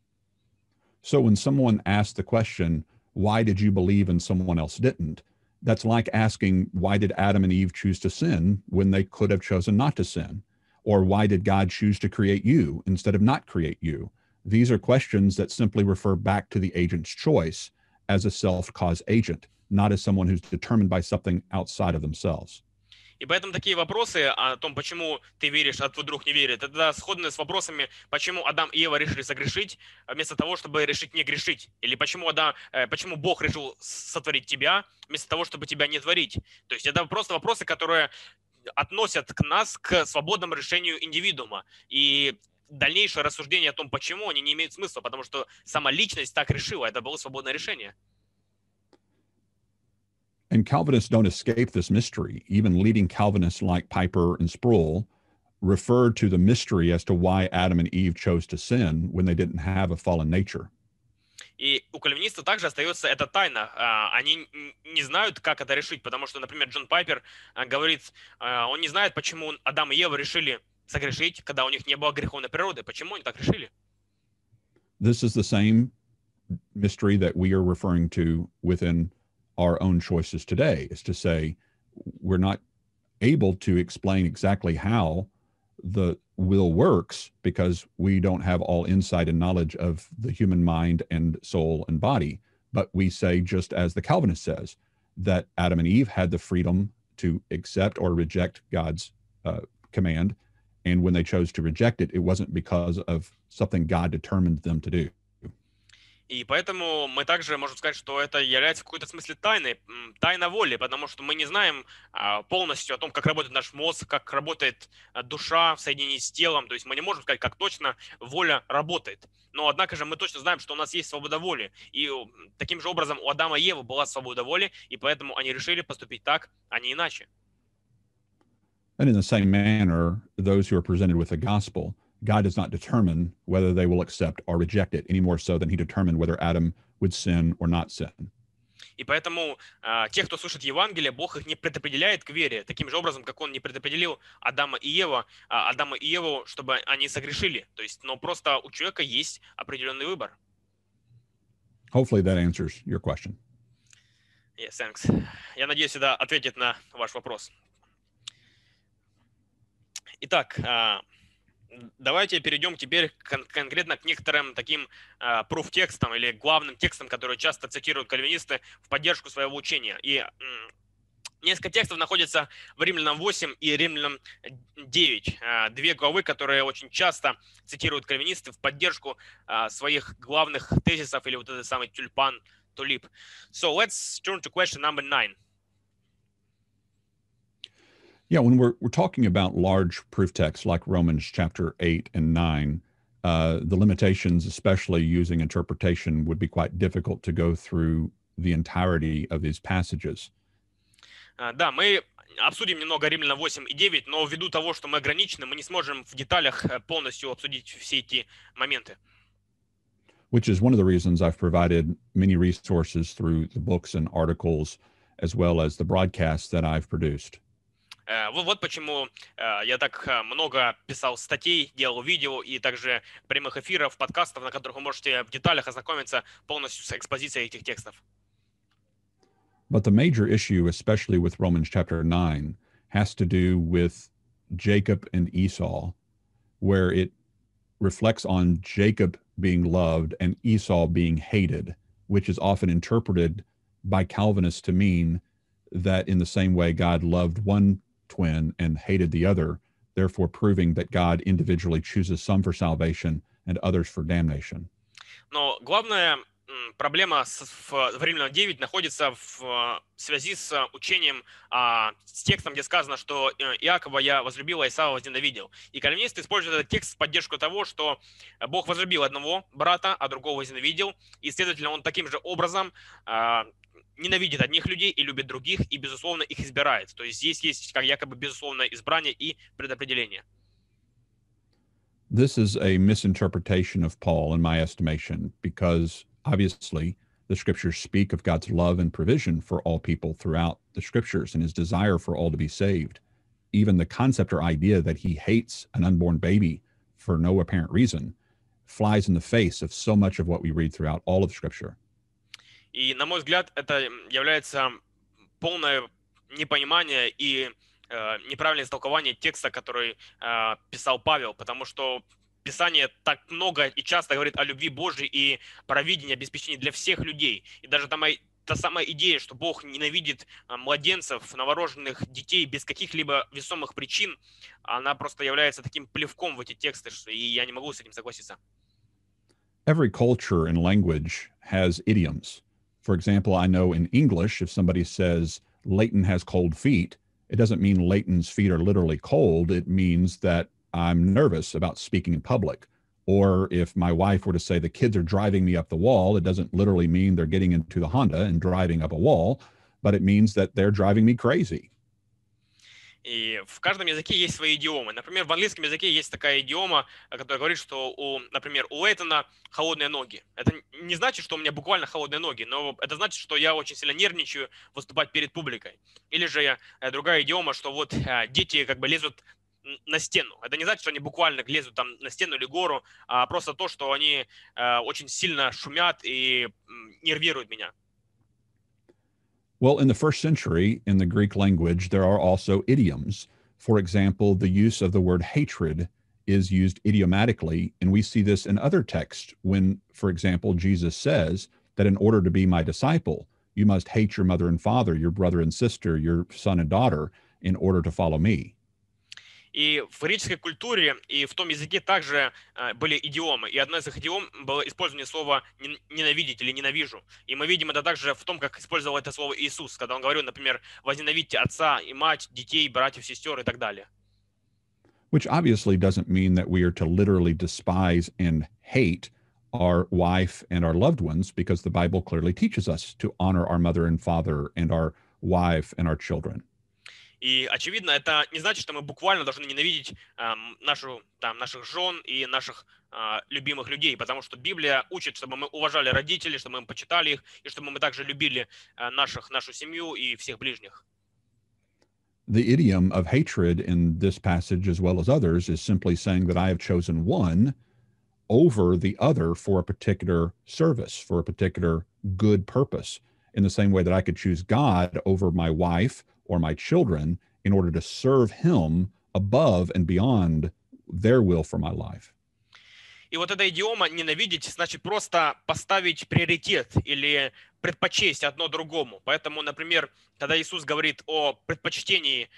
So when someone asks the question, why did you believe and someone else didn't? That's like asking, why did Adam and Eve choose to sin when they could have chosen not to sin? Or why did God choose to create you instead of not create you? These are questions that simply refer back to the agent's choice as a self-cause agent, not as someone who's determined by something outside of themselves. И поэтому такие вопросы о том, почему ты веришь, а твой друг не верит, это сходны с вопросами, почему Адам и Ева решили согрешить, вместо того, чтобы решить не грешить. Или почему Бог решил сотворить тебя, вместо того, чтобы тебя не творить. То есть это просто вопросы, которые относят нас к свободному решению индивидуума. И дальнейшее рассуждение о том, почему, они не имеют смысла, потому что сама личность так решила, это было свободное решение. And Calvinists don't escape this mystery. Even leading Calvinists like Piper and Sproul refer to the mystery as to why Adam and Eve chose to sin when they didn't have a fallen nature. И у кальвинистов также остается эта тайна. Они не знают, как это решить, потому что, например, Джон Пайпер говорит, он не знает, почему Адам и Ева решили согрешить, когда у них не было греховной природы. Почему они так решили? This is the same mystery that we are referring to within our own choices today, is to say we're not able to explain exactly how the will works because we don't have all insight and knowledge of the human mind and soul and body. But we say, just as the Calvinist says, that Adam and Eve had the freedom to accept or reject God's command. And when they chose to reject it, it wasn't because of something God determined them to do. И поэтому мы также можем сказать, что это является в какой-то смысле тайной, тайна воли, потому что мы не знаем полностью о том, как работает наш мозг, как работает душа в соединении с телом. То есть мы не можем сказать, как точно воля работает. Но однако же мы точно знаем, что у нас есть свобода воли. И таким же образом у Адама и Евы была свобода воли, и поэтому они решили поступить так, а не иначе. And in the same manner, those who are presented with the gospel, God does not determine whether they will accept or reject it any more so than he determined whether Adam would sin or not sin. И поэтому те, кто слышит Евангелие, Бог их не предопределяет к вере, таким же образом, как Он не предопределил Адама и Еву, чтобы они согрешили. То есть, но просто у человека есть определенный выбор. Hopefully that answers your question. Yes, thanks. Я надеюсь, это ответит на ваш вопрос. Итак, давайте перейдем теперь конкретно к некоторым таким пруф-текстам или главным текстам, которые часто цитируют кальвинисты в поддержку своего учения. И несколько текстов находятся в Римлянам 8 и Римлянам 9. Две главы, которые очень часто цитируют кальвинисты в поддержку своих главных тезисов или вот этот самый тюльпан, тулип. So let's turn to question number 9. Yeah, when we're talking about large proof texts like Romans chapter 8 and 9, the limitations, especially using interpretation, would be quite difficult to go through the entirety of these passages. Да, мы обсудим немного Римлянам 8 и 9, но ввиду того, что мы ограничены, мы не сможем в деталях полностью обсудить все эти моменты. Which is one of the reasons I've provided many resources through the books and articles, as well as the broadcasts that I've produced. Вот почему я так много писал статей, делал видео и также прямых эфиров, подкастов, на которых вы можете в деталях ознакомиться полностью с экспозицией этих текстов. But the major issue, especially with Romans chapter 9, has to do with Jacob and Esau, where it reflects on Jacob being loved and Esau being hated, which is often interpreted by Calvinists to mean that in the same way God loved one twin and hated the other, therefore proving that God individually chooses some for salvation and others for damnation. Но главная проблема в Римлянам 9 находится в связи с учением, с текстом, где сказано, что Иакова я возлюбил, а Исава возненавидел. И кальвинисты используют этот текст в поддержку того, что Бог возлюбил одного брата, а другого возненавидел, и, следовательно, он таким же образом ненавидит одних людей и любит других, и, безусловно, их избирает. То есть здесь есть как якобы безусловное избрание и предопределение. This is a misinterpretation of Paul, in my estimation, because obviously the scriptures speak of God's love and provision for all people throughout the scriptures and his desire for all to be saved. Even the concept or idea that he hates an unborn baby for no apparent reason flies in the face of so much of what we read throughout all of scripture. И, на мой взгляд, это является полное непонимание и неправильное истолкование текста, который писал Павел, потому что Писание так много и часто говорит о любви Божьей и провидении, обеспечении для всех людей. И даже та самая идея, что Бог ненавидит младенцев, новорожденных детей без каких-либо весомых причин, она просто является таким плевком в эти тексты, и я не могу с этим согласиться. Every culture and language has idioms. For example, I know in English, if somebody says Leighton has cold feet, it doesn't mean Leighton's feet are literally cold. It means that I'm nervous about speaking in public. Or if my wife were to say the kids are driving me up the wall, it doesn't literally mean they're getting into the Honda and driving up a wall, but it means that they're driving me crazy. И в каждом языке есть свои идиомы. Например, в английском языке есть такая идиома, которая говорит, что, например, у Лейтона холодные ноги. Это не значит, что у меня буквально холодные ноги, но это значит, что я очень сильно нервничаю выступать перед публикой. Или же другая идиома, что вот дети как бы лезут на стену. Это не значит, что они буквально лезут там на стену или гору, а просто то, что они очень сильно шумят и нервируют меня. Well, in the first century, in the Greek language, there are also idioms. For example, the use of the word hatred is used idiomatically, and we see this in other texts when, for example, Jesus says that in order to be my disciple, you must hate your mother and father, your brother and sister, your son and daughter, in order to follow me. И в греческой культуре и в том языке также были идиомы. И одно из их идиом было использование слова «ненавидеть» или «ненавижу». И мы видим это также в том, как использовал это слово Иисус, когда он говорил, например, «возненавидьте отца и мать, детей, братьев, сестер» и так далее. Which obviously doesn't mean that we are to literally despise and hate our wife and our loved ones, because the Bible clearly teaches us to honor our mother and father and our wife and our children. И, очевидно, это не значит, что мы буквально должны ненавидеть наших жен и наших любимых людей, потому что Библия учит, чтобы мы уважали родителей, чтобы мы почитали их, и чтобы мы также любили нашу семью и всех ближних. The idiom of hatred in this passage, as well as others, is simply saying that I have chosen one over the other for a particular service, for a particular good purpose, in the same way that I could choose God over my wife or my children in order to serve him above and beyond their will for my life. И вот эта идиома «ненавидеть» значит просто поставить приоритет или предпочесть одно другому. Поэтому, например, когда Иисус говорит о предпочтении,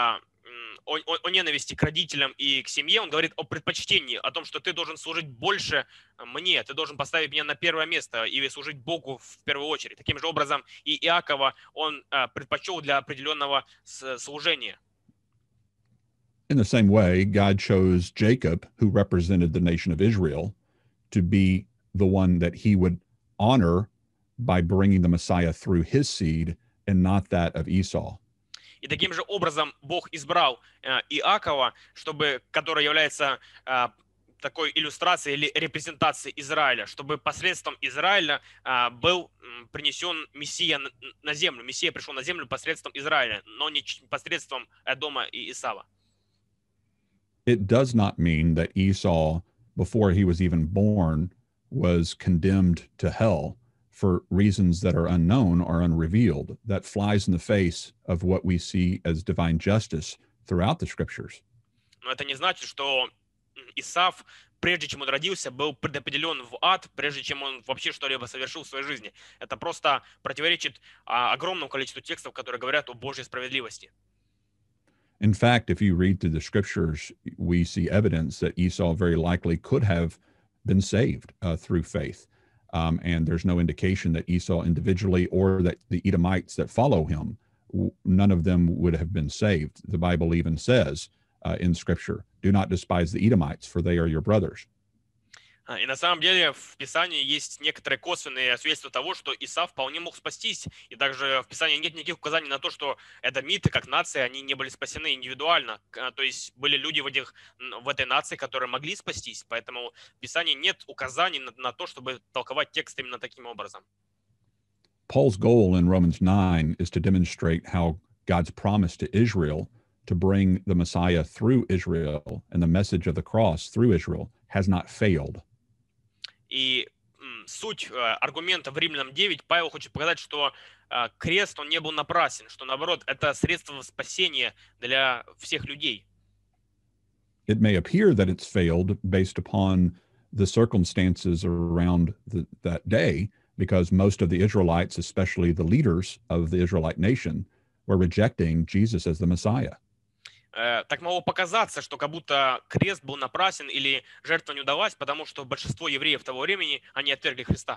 о ненависти к родителям и к семье, он говорит о предпочтении, о том, что ты должен служить больше мне, ты должен поставить меня на первое место и служить Богу в первую очередь. Таким же образом и Иакова он предпочел для определенного служения. In the same way, God chose Jacob, who represented the nation of Israel, to be the one that he would honor by bringing the Messiah through his seed and not that of Esau. И таким же образом Бог избрал Иакова, который является такой иллюстрацией или репрезентацией Израиля, чтобы посредством Израиля был принесен Мессия на землю. Мессия пришел на землю посредством Израиля, но не посредством Эдома и Исава. It does not mean that Esau, before he was even born, was condemned to hell for reasons that are unknown or unrevealed. That flies in the face of what we see as divine justice throughout the scriptures. Но это не значит, что Исав, прежде чем он родился, был предопределен в ад, прежде чем он вообще что-либо совершил в своей жизни. Это просто противоречит огромному количеству текстов, которые говорят о Божьей справедливости. In fact, if you read through the scriptures, we see evidence that Esau very likely could have been saved through faith. And there's no indication that Esau individually or that the Edomites that follow him, none of them would have been saved. The Bible even says in scripture, do not despise the Edomites, for they are your brothers. И на самом деле в Писании есть некоторые косвенные свидетельства того, что Исав вполне мог спастись. И также в Писании нет никаких указаний на то, что эдомиты как нация, они не были спасены индивидуально. То есть были люди в этой нации, которые могли спастись. Поэтому в Писании нет указаний на то, чтобы толковать текст именно таким образом. Paul's goal in Romans 9 is to demonstrate how God's promise to Israel to bring the Messiah through Israel and the message of the cross through Israel has not failed. И суть аргумента в Римлянам 9, Павел хочет показать, что крест, он не был напрасен, что наоборот, это средство спасения для всех людей. It may appear that it's failed based upon the circumstances around that day, because most of the Israelites, especially the leaders of the Israelite nation, were rejecting Jesus as the Messiah. Так могло показаться, что как будто крест был напрасен или жертва не удалась, потому что большинство евреев того времени, они отвергли Христа.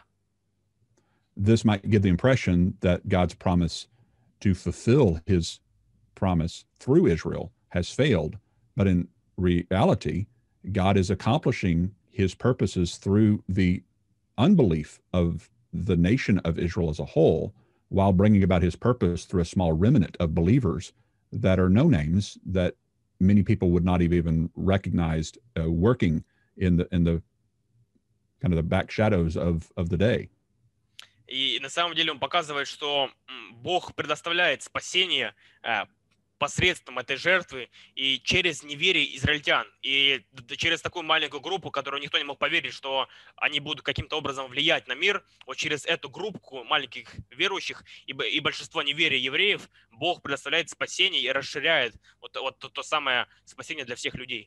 This might give the impression that God's promise to fulfill his promise through Israel has failed, but in reality, God is accomplishing his purposes through the unbelief of the nation of Israel as a whole, while bringing about his purpose through a small remnant of believers that are no names, that many people would not have even recognized working in the kind of the back shadows of the day. И на самом деле он показывает, что Бог предоставляет спасение посредством этой жертвы и через неверие израильтян. И через такую маленькую группу, которую никто не мог поверить, что они будут каким-то образом влиять на мир, вот через эту группу маленьких верующих и большинство неверия евреев, Бог предоставляет спасение и расширяет вот то самое спасение для всех людей.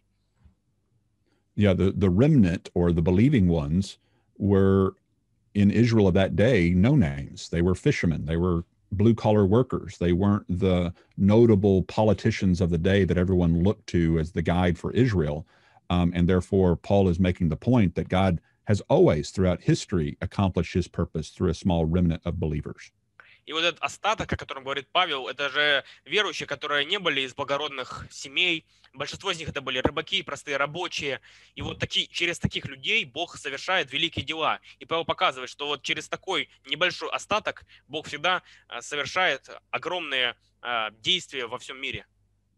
Yeah, the remnant or the believing ones were in Israel of that day no names. They were fishermen. They were blue-collar workers. They weren't the notable politicians of the day that everyone looked to as the guide for Israel. And therefore, Paul is making the point that God has always, throughout history, accomplished his purpose through a small remnant of believers. И вот этот остаток, о котором говорит Павел, это же верующие, которые не были из благородных семей. Большинство из них это были рыбаки, простые рабочие. И вот через таких людей Бог совершает великие дела. И Павел показывает, что вот через такой небольшой остаток Бог всегда совершает огромные действия во всем мире.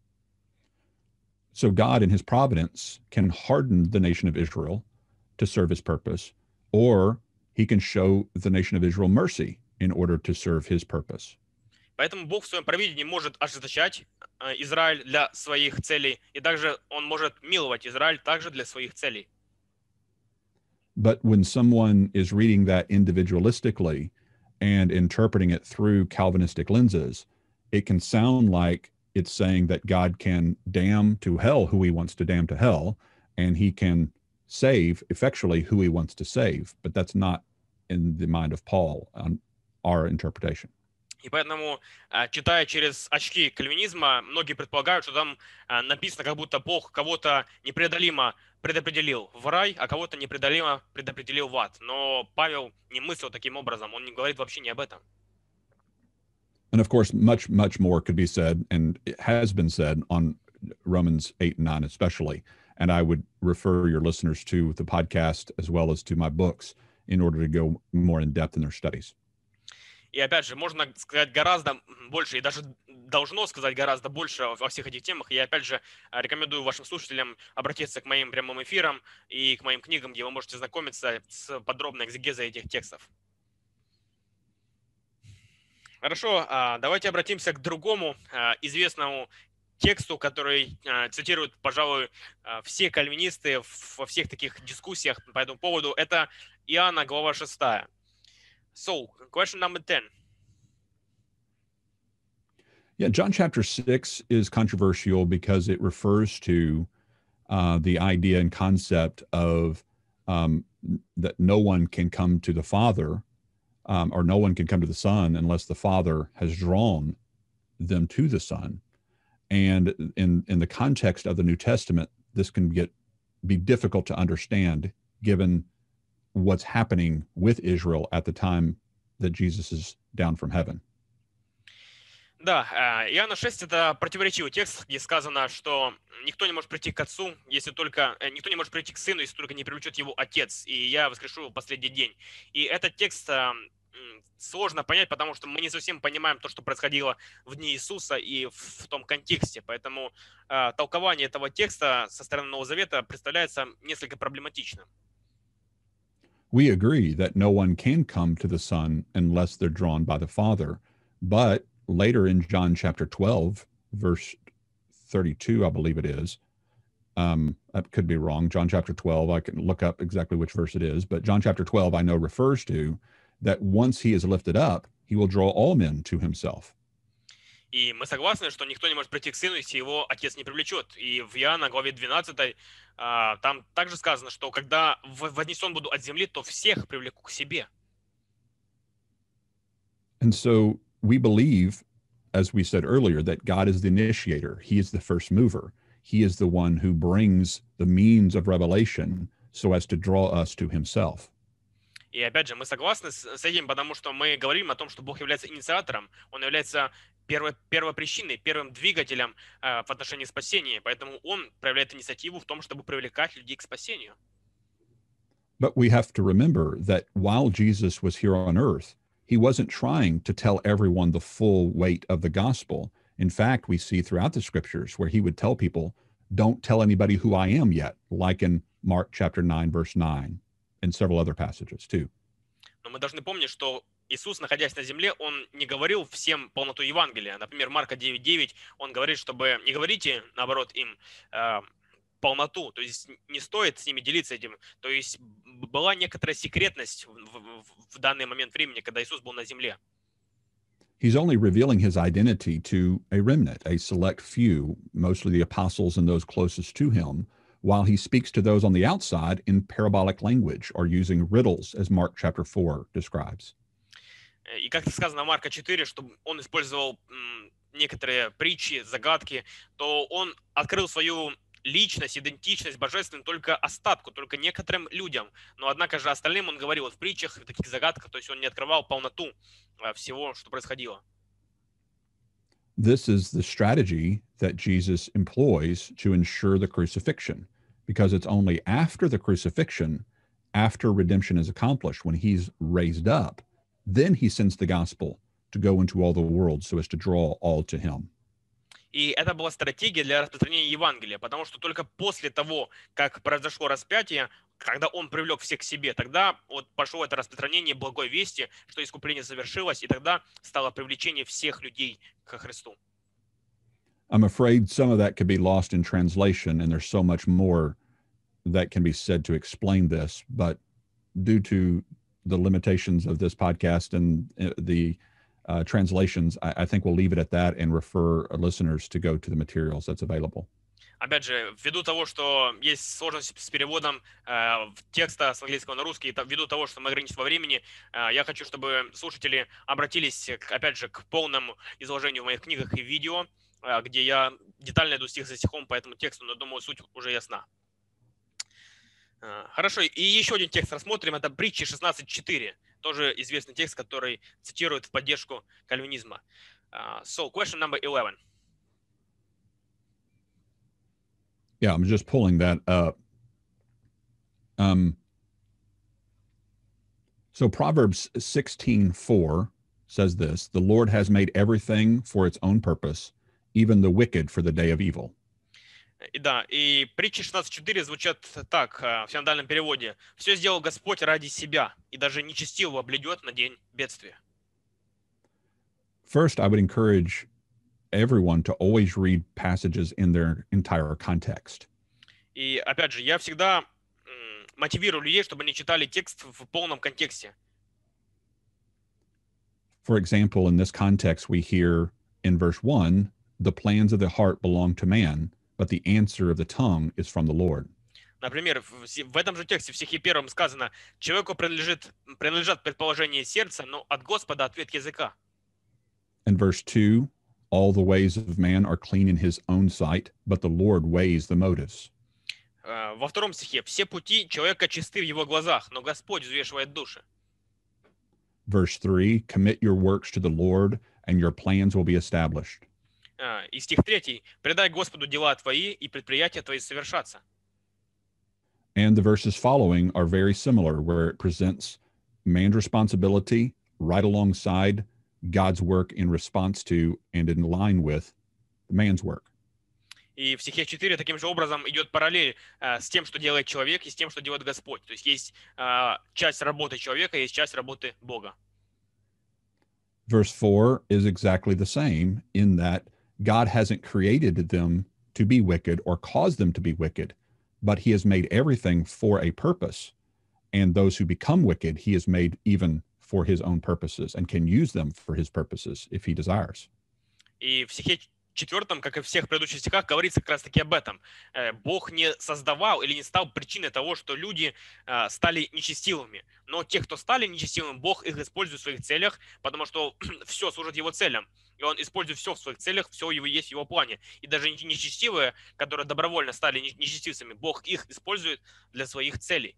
So God in his providence can harden the nation of Israel to serve his purpose, or he can show the nation of Israel mercy in order to serve his purpose. Поэтому Бог в своем провидении может ожесточать Израиль для своих целей, и также он может миловать Израиль также для своих целей. But when someone is reading that individualistically and interpreting it through Calvinistic lenses, it can sound like it's saying that God can damn to hell who he wants to damn to hell, and he can save effectually who he wants to save. But that's not in the mind of Paul on our interpretation. И поэтому, читая через очки кальвинизма, многие предполагают, что там написано, как будто Бог кого-то непреодолимо предопределил в рай, а кого-то непреодолимо предопределил в ад. Но Павел не мыслил таким образом, он не говорит вообще не об этом. And of course, much, much more could be said, and it has been said on Romans 8 and 9 especially. And I would refer your listeners to the podcast as well as to my books in order to go more in depth in their studies. И опять же, можно сказать гораздо больше, и даже должно сказать гораздо больше во всех этих темах. Я опять же рекомендую вашим слушателям обратиться к моим прямым эфирам и к моим книгам, где вы можете знакомиться с подробной экзегезой этих текстов. Хорошо, давайте обратимся к другому известному тексту, который цитируют, пожалуй, все кальвинисты во всех таких дискуссиях по этому поводу. Это Иоанна, глава 6. So, question number 10. Yeah, John chapter 6 is controversial because it refers to the idea and concept of that no one can come to the Father or no one can come to the Son unless the Father has drawn them to the Son. And in the context of the New Testament, this can be difficult to understand given what's happening with Israel at the time that Jesus is down from heaven. Да, Иоанна 6 – это противоречивый текст, где сказано, что никто не может прийти к Отцу, если только никто не может прийти к Сыну, если только не привлечет его Отец, и я воскрешу его в последний день. И этот текст сложно понять, потому что мы не совсем понимаем то, что происходило в дни Иисуса и в том контексте. Поэтому толкование этого текста со стороны Нового Завета представляется несколько проблематичным. We agree that no one can come to the Son unless they're drawn by the Father. But later in John chapter 12, verse 32, I believe it is, I could be wrong. John chapter 12, I can look up exactly which verse it is, but John chapter 12, I know refers to that once he is lifted up, he will draw all men to himself. И мы согласны, что никто не может прийти к Сыну, если его Отец не привлечет. И в Иоанна, главе 12, там также сказано, что когда вознесен буду от земли, то всех привлеку к себе. And so we believe, as we said earlier, that God is the initiator. He is the first mover. He is the one who brings the means of revelation so as to draw us to himself. И опять же, мы согласны с этим, потому что мы говорим о том, что Бог является инициатором, Он является первопричиной, первым двигателем в отношении спасения, поэтому Он проявляет инициативу в том, чтобы привлекать людей к спасению. But we have to remember that while Jesus was here on earth, he wasn't trying to tell everyone the full weight of the gospel. In fact, we see throughout the scriptures where he would tell people, don't tell anybody who I am yet, like in Mark chapter 9, verse 9. And several other passages too. Но мы должны помнить, что Иисус, находясь на земле, Он не говорил всем полноту Евангелия. Например, Марка 9:9, Он говорит, чтобы не говорите, наоборот, им полноту, то есть не стоит с ними делиться этим. То есть была некоторая секретность в данный момент времени, когда Иисус был на земле. He's only revealing his identity to a remnant, a select few, mostly the apostles and those closest to him, while he speaks to those on the outside in parabolic language or using riddles, as Mark chapter 4 describes. И как сказано в Марка 4, что он использовал некоторые притчи, загадки, то он открыл свою личность, идентичность божественную только остатку, только некоторым людям. Но однако же остальным он говорил в притчах, в таких загадках, то есть он не открывал полноту всего, что происходило. This is the strategy that Jesus employs to ensure the crucifixion, because it's only after the crucifixion, after redemption is accomplished, when he's raised up, then he sends the gospel to go into all the world so as to draw all to him. И это была стратегия для распространения Евангелия, потому что только после того, как произошло распятие, когда он привлек всех к себе, тогда вот пошло это распространение благой вести, что искупление завершилось, и тогда стало привлечение всех людей ко Христу. I'm afraid some of that could be lost in translation, and there's so much more that can be said to explain this, but due to the limitations of this podcast and the translations, I think we'll leave it at that and refer listeners to go to the materials that's available. Опять же, ввиду того, что есть сложность с переводом текста с английского на русский, ввиду того, что мы ограничены во времени, я хочу, чтобы слушатели обратились, опять же, к полному изложению в моих книгах и видео, где я детально иду стих за стихом по этому тексту, но думаю, суть уже ясна. Хорошо, и еще один текст рассмотрим, это Притчи 16.4, тоже известный текст, который цитирует в поддержку кальвинизма. So, question number 11. Yeah, I'm just pulling that up. So Proverbs 16:4 says this, the Lord has made everything for its own purpose, even the wicked for the day of evil. Да, и притчи 16.4 звучат так в синодальном переводе. «Все сделал Господь ради себя, и даже нечестивого блюдет на день бедствия». First, I would encourage everyone to always read passages in their entire context. И опять же, я всегда мотивирую людей, чтобы они читали текст в полном контексте. For example, in this context, we hear in verse 1, the plans of the heart belong to man, but the answer of the tongue is from the Lord. Например, в этом же тексте в стихе 1 сказано, человеку принадлежат предположения сердца, но от Господа ответ языка. In verse 2, all the ways of man are clean in his own sight, but the Lord weighs the motives. Во втором стихе, все пути человека чисты в его глазах, но Господь взвешивает души. Verse 3, commit your works to the Lord, and your plans will be established. И стих 3, предай Господу дела твои, и предприятия твои совершатся. And the verses following are very similar, where it presents man's responsibility right alongside God's work in response to and in line with man's work. И в стихе 4 таким же образом идет параллель с тем, что делает человек, и с тем, что делает Господь. То есть есть часть работы человека, есть часть работы Бога. Verse 4 is exactly the same in that God hasn't created them to be wicked or caused them to be wicked, but he has made everything for a purpose. And those who become wicked, he has made even for his own purposes and can use them for his purposes if he desires. И в стихе 4, как и в всех предыдущих стихах, говорится как раз-таки об этом. Бог не создавал или не стал причиной того, что люди стали нечестивыми. Но те, кто стали нечестивыми, Бог их использует в своих целях, потому что все служит его целям. И он использует все в своих целях, все его есть в его плане. И даже нечестивые, которые добровольно стали нечестивцами, Бог их использует для своих целей.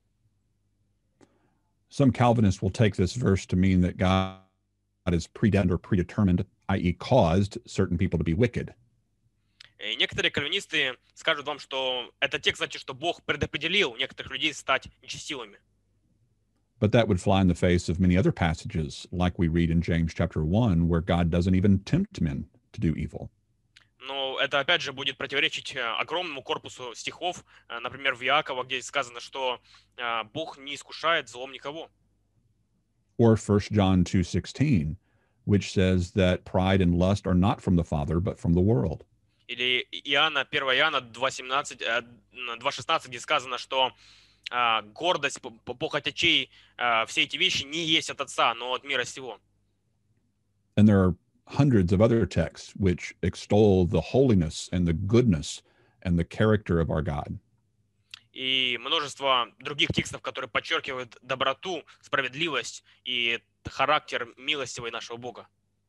Some Calvinists will take this verse to mean that God is predestined or predetermined, i.e. caused certain people to be wicked. И некоторые кальвинисты скажут вам, что этот текст значит, что Бог предопределил некоторых людей стать нечестивыми. But that would fly in the face of many other passages, like we read in James chapter 1, where God doesn't even tempt men to do evil. Но это опять же будет противоречить огромному корпусу стихов, например, в Иакова, где сказано, что Бог не искушает злом никого. Or 1 John 2:16, which says that pride and lust are not from the Father, but from the world. Или 1 Иоанна 2:16, где сказано, что гордость, похоть очей, все эти вещи не есть от Отца, но от мира сего. And there are hundreds of other texts which extol the holiness and the goodness and the character of our God. И множество других текстов, которые подчеркивают доброту, справедливость и характер милостивый нашего Бога.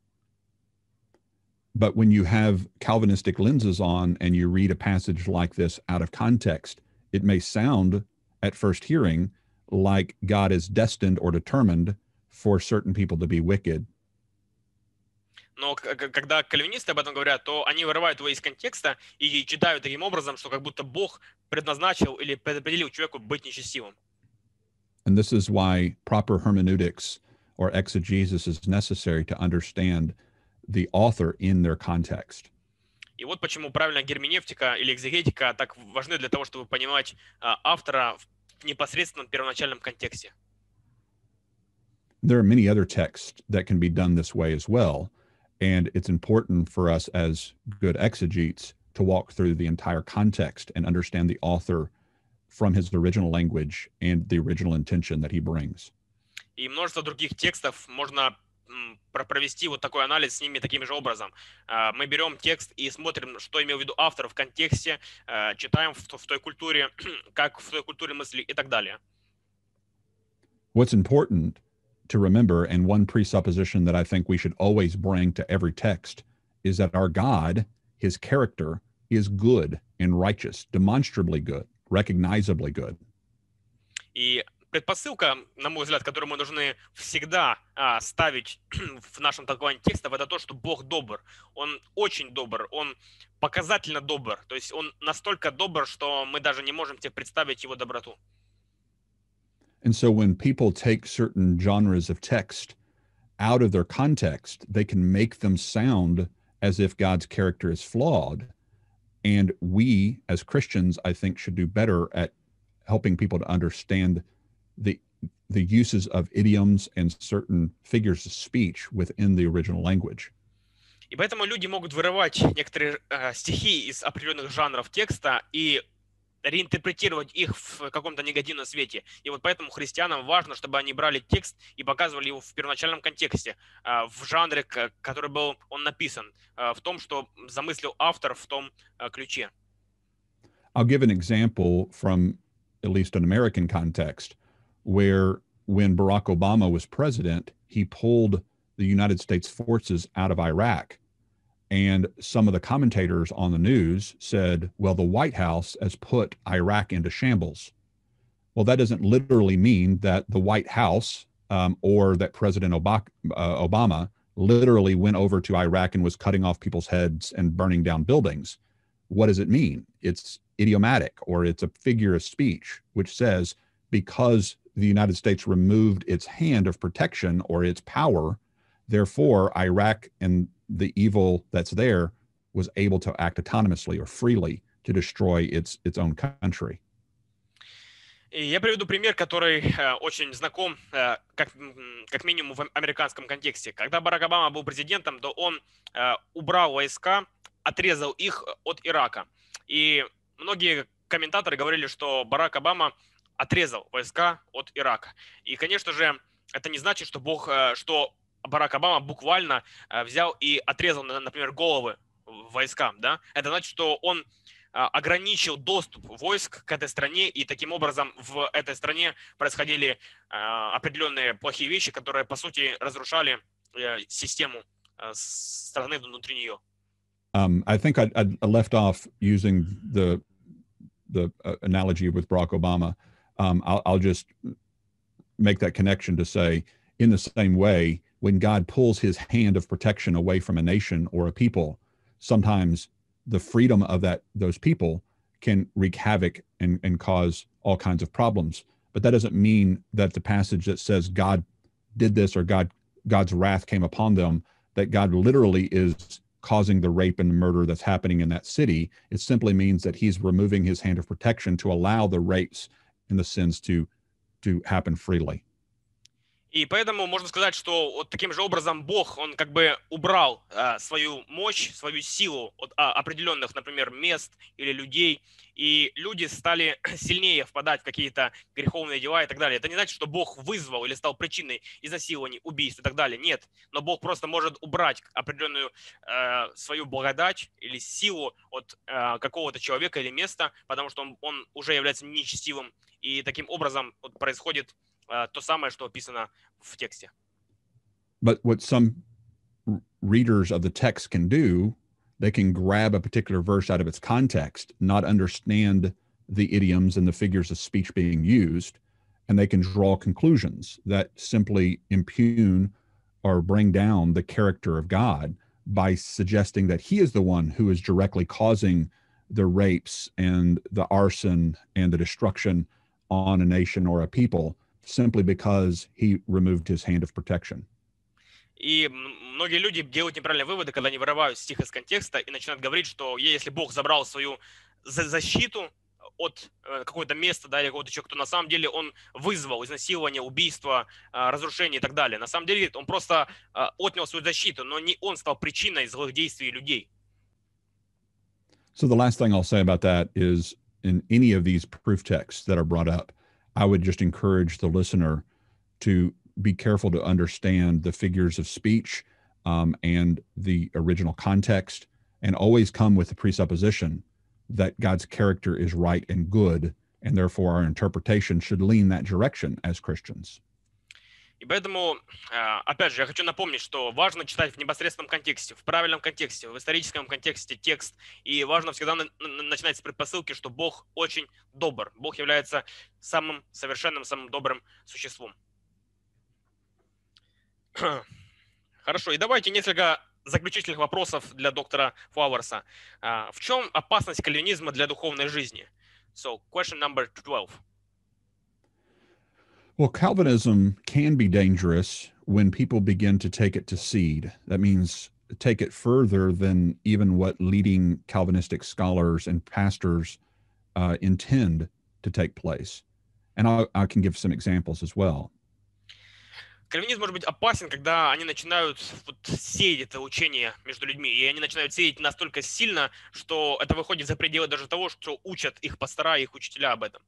But when you have Calvinistic lenses on and you read a passage like this out of context, it may sound at first hearing like God is destined or determined for certain people to be wicked. Но когда кальвинисты об этом говорят, то они вырывают его из контекста и читают таким образом, что как будто Бог предназначил или предопределил человеку быть нечестивым. And this is why proper hermeneutics or exegesis is necessary to understand the author in their context. И вот почему правильная герменевтика или экзегетика так важны для того, чтобы понимать автора в непосредственном первоначальном контексте. There are many other texts that can be done this way as well. And it's important for us as good exegetes to walk through the entire context and understand the author from his original language and the original intention that he brings. И множество других текстов можно провести вот такой анализ с ними таким же образом. Мы берем текст и смотрим, что имел в виду автор в контексте, читаем в той культуре, как в той культуре мысли и так далее. What's important to remember, and one presupposition that I think we should always bring to every text, is that our God, his character, is good and righteous, demonstrably good, recognizably good. И предпосылка, на мой взгляд, которую мы должны всегда ставить в нашем толковании текстов, это то, что Бог добр. Он очень добр, он показательно добр. То есть он настолько добр, что мы даже не можем себе представить его доброту. And so when people take certain genres of text out of their context, they can make them sound as if God's character is flawed. And we, as Christians, I think, should do better at helping people to understand the uses of idioms and certain figures of speech within the original language. И поэтому люди могут вырывать некоторые стихи из определенных жанров текста и реинтерпретировать их в каком-то негативном свете. И вот поэтому христианам важно, чтобы они брали текст и показывали его в первоначальном контексте, в жанре, который был он написан, в том, что замыслил автор в том ключе. I'll give an example from at least an American context, where when Barack Obama was president, he pulled the United States forces out of Iraq. And some of the commentators on the news said, well, the White House has put Iraq into shambles. Well, that doesn't literally mean that the White House or that President Obama literally went over to Iraq and was cutting off people's heads and burning down buildings. What does it mean? It's idiomatic, or it's a figure of speech, which says because the United States removed its hand of protection or its power, therefore Iraq and the evil that's there was able to act autonomously or freely to destroy its own country. И я приведу пример, который очень знаком, как минимум в американском контексте. Когда Барак Обама был президентом, то он убрал войска, отрезал их от Ирака. И многие комментаторы говорили, что Барак Обама отрезал войска от Ирака. И, конечно же, это не значит, что Барак Обама буквально взял и отрезал, например, головы войскам. Да? Это значит, что он ограничил доступ войск к этой стране, и таким образом в этой стране происходили определенные плохие вещи, которые, по сути, разрушали систему страны внутри нее. I think I left off using the analogy with Barack Obama. I'll just make that connection to say, in the same way, when God pulls his hand of protection away from a nation or a people, sometimes the freedom of those people can wreak havoc and cause all kinds of problems. But that doesn't mean that the passage that says God did this or God's wrath came upon them, that God literally is causing the rape and the murder that's happening in that city. It simply means that he's removing his hand of protection to allow the rapes and the sins to happen freely. И поэтому можно сказать, что вот таким же образом Бог, он как бы убрал свою мощь, свою силу от определенных, например, мест или людей, и люди стали сильнее впадать в какие-то греховные дела и так далее. Это не значит, что Бог вызвал или стал причиной изнасилований, убийств и так далее. Нет, но Бог просто может убрать определенную свою благодать или силу от какого-то человека или места, потому что он уже является нечестивым, и таким образом вот происходит то самое, что описано в тексте. But what some readers of the text can do, they can grab a particular verse out of its context, not understand the idioms and the figures of speech being used, and they can draw conclusions that simply impugn or bring down the character of God by suggesting that he is the one who is directly causing the rapes and the arson and the destruction on a nation or a people, simply because he removed his hand of protection. И многие люди делают неправильные выводы, когда они вырывают стих из контекста и начинают говорить, что если Бог забрал свою защиту от какого-то места, да, или какого-то человека, то на самом деле он вызвал изнасилование, убийство, разрушение и так далее. На самом деле он просто отнял свою защиту, но не он стал причиной злых действий людей. So the last thing I'll say about that is in any of these proof texts that are brought up, I would just encourage the listener to be careful to understand the figures of speech and the original context, and always come with the presupposition that God's character is right and good, and therefore our interpretation should lean that direction as Christians. И поэтому, опять же, я хочу напомнить, что важно читать в непосредственном контексте, в правильном контексте, в историческом контексте текст. И важно всегда начинать с предпосылки, что Бог очень добр. Бог является самым совершенным, самым добрым существом. Хорошо, и давайте несколько заключительных вопросов для доктора Флауэрса. В чем опасность кальвинизма для духовной жизни? So, question number 12. Well, Calvinism can be dangerous when people begin to take it to seed. That means take it further than even what leading Calvinistic scholars and pastors intend to take place. And I can give some examples as well. Кальвинизм может быть опасен, когда они начинают сеять это учение между людьми, и они начинают сеять настолько сильно, что это выходит за пределы даже того, что учат их пастора и их учителя об этом.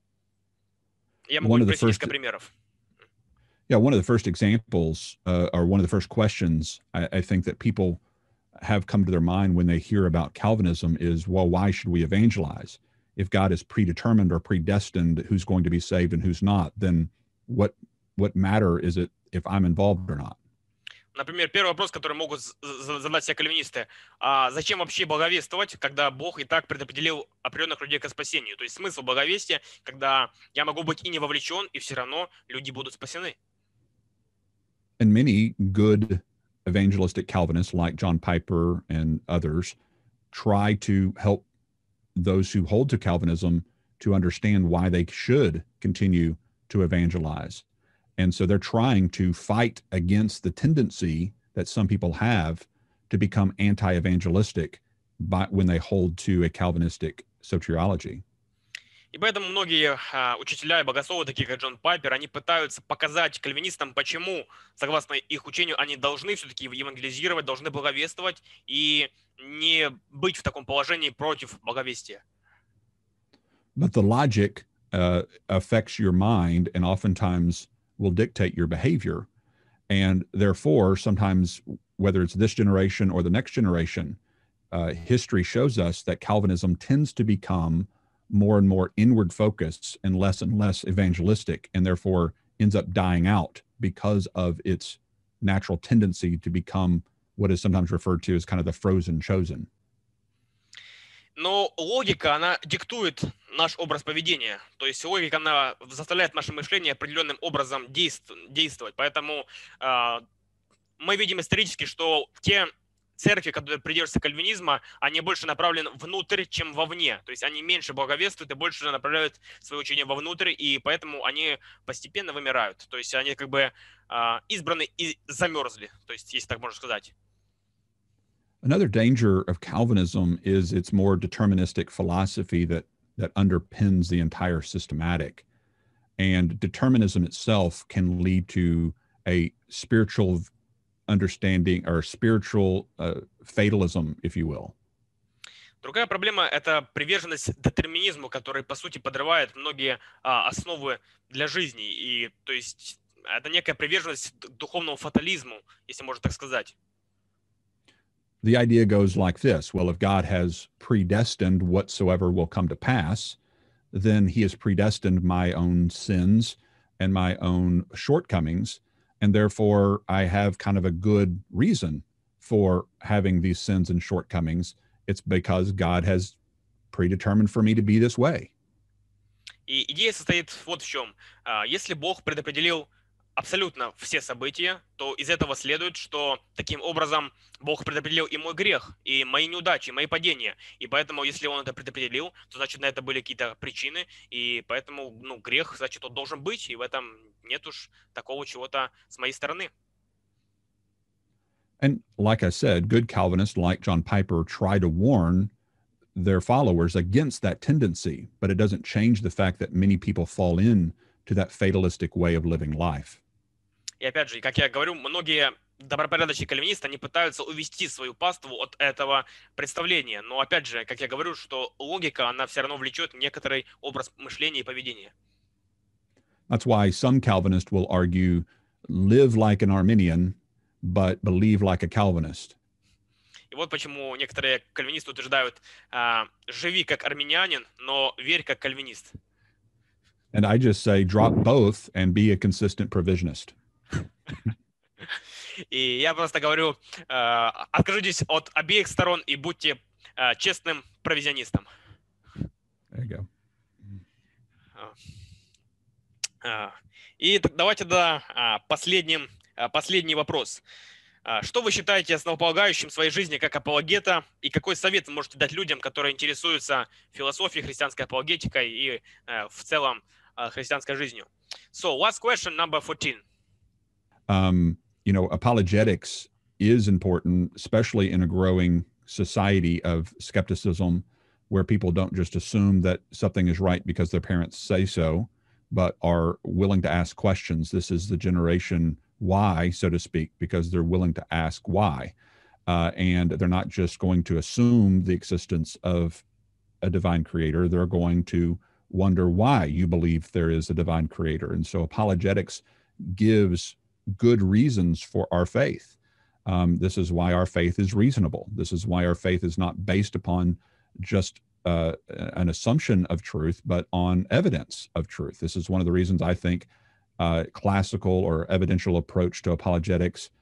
Я могу привести несколько примеров. Yeah, one of the first examples, or one of the first questions I think that people have come to their mind when they hear about Calvinism is, well, why should we evangelize? If God is predetermined or predestined who's going to be saved and who's not, then what matter is it if I'm involved or not? Например, первый вопрос, который могут задать все кальвинисты. А зачем вообще благовествовать, когда Бог и так предопределил определенных людей к спасению? То есть смысл благовестия, когда я могу быть и не вовлечен, и все равно люди будут спасены. And many good evangelistic Calvinists like John Piper and others try to help those who hold to Calvinism to understand why they should continue to evangelize. And so they're trying to fight against the tendency that some people have to become anti-evangelistic when they hold to a Calvinistic soteriology. И поэтому многие учителя и богословы, такие как Джон Пайпер, они пытаются показать кальвинистам, почему, согласно их учению, они должны все-таки евангелизировать, должны благовествовать и не быть в таком положении против благовестия. But the logic affects your mind and oftentimes will dictate your behavior. And therefore, sometimes, whether it's this generation or the next generation, history shows us that Calvinism tends to become more and more inward focused and less evangelistic, and therefore ends up dying out because of its natural tendency to become what is sometimes referred to as kind of the frozen chosen. Но логика, она диктует наш образ поведения. То есть логика, она заставляет наше мышление определенным образом действовать. Поэтому мы видим исторически, что те церкви, которые придерживаются кальвинизма, они больше направлены внутрь, чем вовне. То есть они меньше благовествуют и больше направляют свое учение вовнутрь, и поэтому они постепенно вымирают. То есть они как бы избраны и замерзли, то есть, если так можно сказать. Another danger of Calvinism is its more deterministic philosophy that underpins the entire systematic. And determinism itself can lead to a spiritual understanding or spiritual fatalism, if you will. Другая проблема – это приверженность детерминизму, который, по сути, подрывает многие основы для жизни. И, то есть, это некая приверженность к духовному фатализму, если можно так сказать. The idea goes like this. Well, if God has predestined whatsoever will come to pass, then he has predestined my own sins and my own shortcomings. And therefore, I have kind of a good reason for having these sins and shortcomings. It's because God has predetermined for me to be this way. И идея состоит вот в чем. Если Бог предопределил абсолютно все события, то из этого следует, что таким образом Бог предопределил и мой грех, и мои неудачи, и мои падения. И поэтому, если Он это предопределил, то значит на это были какие-то причины, и поэтому грех, значит, он должен быть, и в этом нет уж такого чего-то с моей стороны. And like I said, good Calvinists like John Piper try to warn their followers against that tendency, but it doesn't change the fact that many people fall in to that fatalistic way of living life. И опять же, как я говорю, многие добропорядочные кальвинисты, они пытаются увести свою паству от этого представления. Но опять же, как я говорю, что логика, она все равно влечет некоторый образ мышления и поведения. That's why some Calvinists will argue, live like an Arminian, but believe like a Calvinist. И вот почему некоторые кальвинисты утверждают, живи как армянин, но верь как кальвинист. And I just say, drop both and be a consistent provisionist. И я просто говорю, откажитесь от обеих сторон и будьте честным провизионистом. There you go. И давайте последний вопрос. Что вы считаете основополагающим в своей жизни как апологета, и какой совет вы можете дать людям, которые интересуются философией, христианской апологетикой и в целом христианской жизнью? So, last question, number 14. Apologetics is important, especially in a growing society of skepticism, where people don't just assume that something is right because their parents say so, but are willing to ask questions. This is the generation Y, so to speak, because they're willing to ask why. And they're not just going to assume the existence of a divine creator. They're going to wonder why you believe there is a divine creator. And so apologetics gives good reasons for our faith. This is why our faith is reasonable. This is why our faith is not based upon just an assumption of truth, but on evidence of truth. This is one of the reasons I think classical or evidential approach to apologetics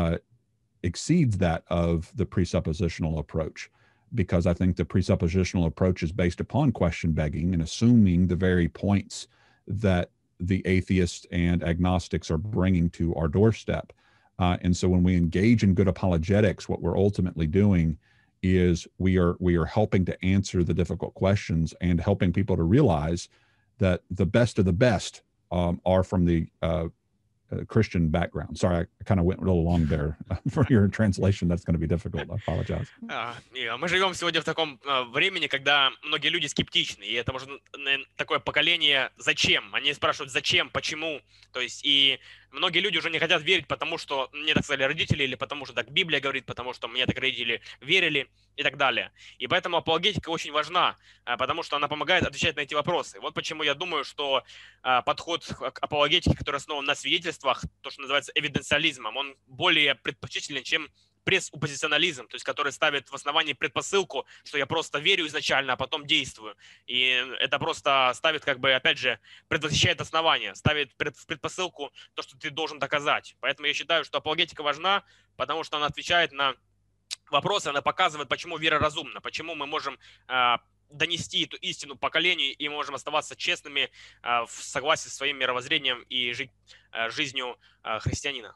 exceeds that of the presuppositional approach, because I think the presuppositional approach is based upon question begging and assuming the very points that the atheists and agnostics are bringing to our doorstep. And so when we engage in good apologetics, what we're ultimately doing is we are helping to answer the difficult questions and helping people to realize that the best of the best are from the Christian background. Sorry, I kind of went a little long there for your translation. That's going to be difficult. I apologize. Мы живем сегодня в таком времени, когда многие люди скептичны, и это, может, такое поколение «зачем?». Они спрашивают «зачем?», «почему?». То есть и многие люди уже не хотят верить, потому что мне так сказали родители, или потому что так Библия говорит, потому что мне так родители верили и так далее. И поэтому апологетика очень важна, потому что она помогает отвечать на эти вопросы. Вот почему я думаю, что подход к апологетике, который основан на свидетельствах, то, что называется эвиденциализмом, он более предпочтителен, чем пресуппозиционализм, то есть который ставит в основании предпосылку, что я просто верю изначально, а потом действую. И это просто ставит, опять же, предвосхищает основание, ставит в предпосылку то, что ты должен доказать. Поэтому я считаю, что апологетика важна, потому что она отвечает на вопросы, она показывает, почему вера разумна, почему мы можем донести эту истину поколению и можем оставаться честными в согласии со своим мировоззрением и жить жизнью христианина.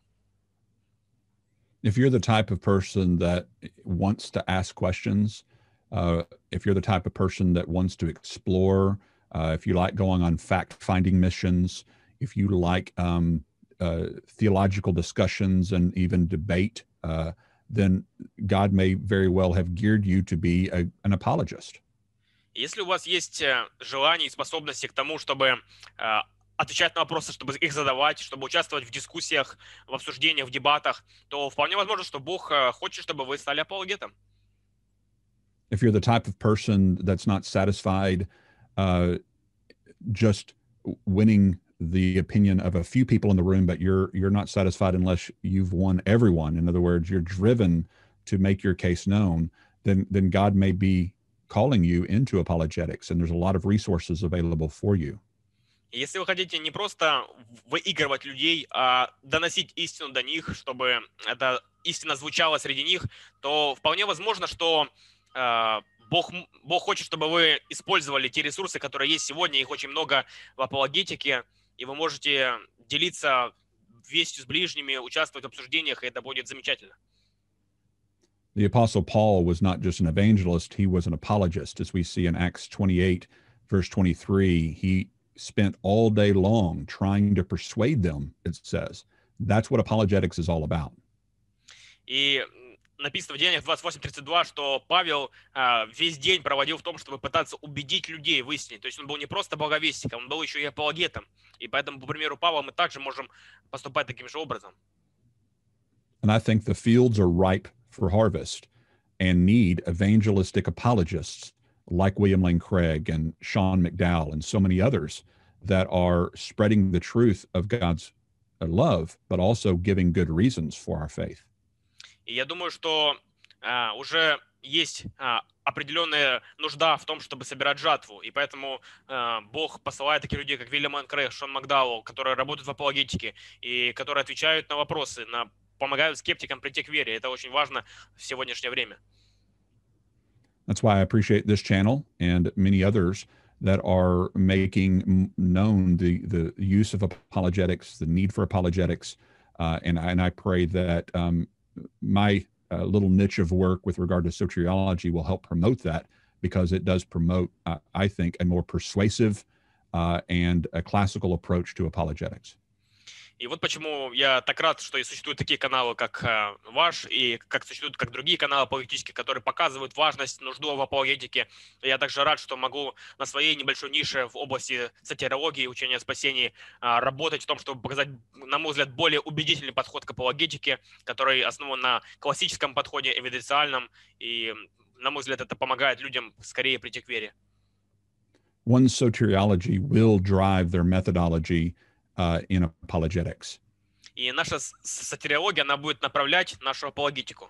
If you're the type of person that wants to ask questions, if you're the type of person that wants to explore, if you like going on fact-finding missions, if you like theological discussions and even debate, then God may very well have geared you to be an apologist. Если у вас есть желание и способности к тому, чтобы отвечать на вопросы, чтобы их задавать, чтобы участвовать в дискуссиях, в обсуждениях, в дебатах, то вполне возможно, что Бог хочет, чтобы вы стали апологетом. If you're the type of person that's not satisfied just winning the opinion of a few people in the room, but you're not satisfied unless you've won everyone. In other words, you're driven to make your case known, then God may be calling you into apologetics, and there's a lot of resources available for you. Если вы хотите не просто выигрывать людей, а доносить истину до них, чтобы эта истина звучала среди них, то вполне возможно, что Бог хочет, чтобы вы использовали те ресурсы, которые есть сегодня, их очень много в апологетике, и вы можете делиться вестью с ближними, участвовать в обсуждениях, и это будет замечательно. The Apostle Paul was not just an evangelist, he was an apologist. As we see in Acts 28, verse 23, he spent all day long trying to persuade them, it says. That's what apologetics is all about. И написано в Деяниях 28:32, что Павел весь день проводил в том, чтобы пытаться убедить людей в истине. То есть он был не просто благовестником, он был еще и апологетом. И поэтому, по примеру Павла, мы также можем поступать таким же образом. And I think the fields are ripe for harvest and need evangelistic apologists like William Lane Craig and Sean McDowell and so many others that are spreading the truth of God's love, but also giving good reasons for our faith. И я думаю, что уже есть определенная нужда в том, чтобы собирать жатву. И поэтому Бог посылает таких людей, как Уильям Лейн Крейг, Шон Макдауэлл, которые работают в апологетике и которые отвечают на вопросы, помогают скептикам прийти к вере. Это очень важно в сегодняшнее время. That's why I appreciate this channel and many others that are making known the use of apologetics, the need for apologetics. And I pray that my little niche of work with regard to soteriology will help promote that, because it does promote, I think, a more persuasive and a classical approach to apologetics. И вот почему я так рад, что и существуют такие каналы, как ваш, и как существуют как другие каналы апологетические, которые показывают важность, нужду в апологетике. Я также рад, что могу на своей небольшой нише в области сатерологии, учения о спасении работать в том, чтобы показать, на мой взгляд, более убедительный подход к апологетике, который основан на классическом подходе, эвиденциальном, и, на мой взгляд, это помогает людям скорее прийти к вере. One's soteriology will drive their methodology in apologetics. И наша сатериология, она будет направлять нашу апологетику.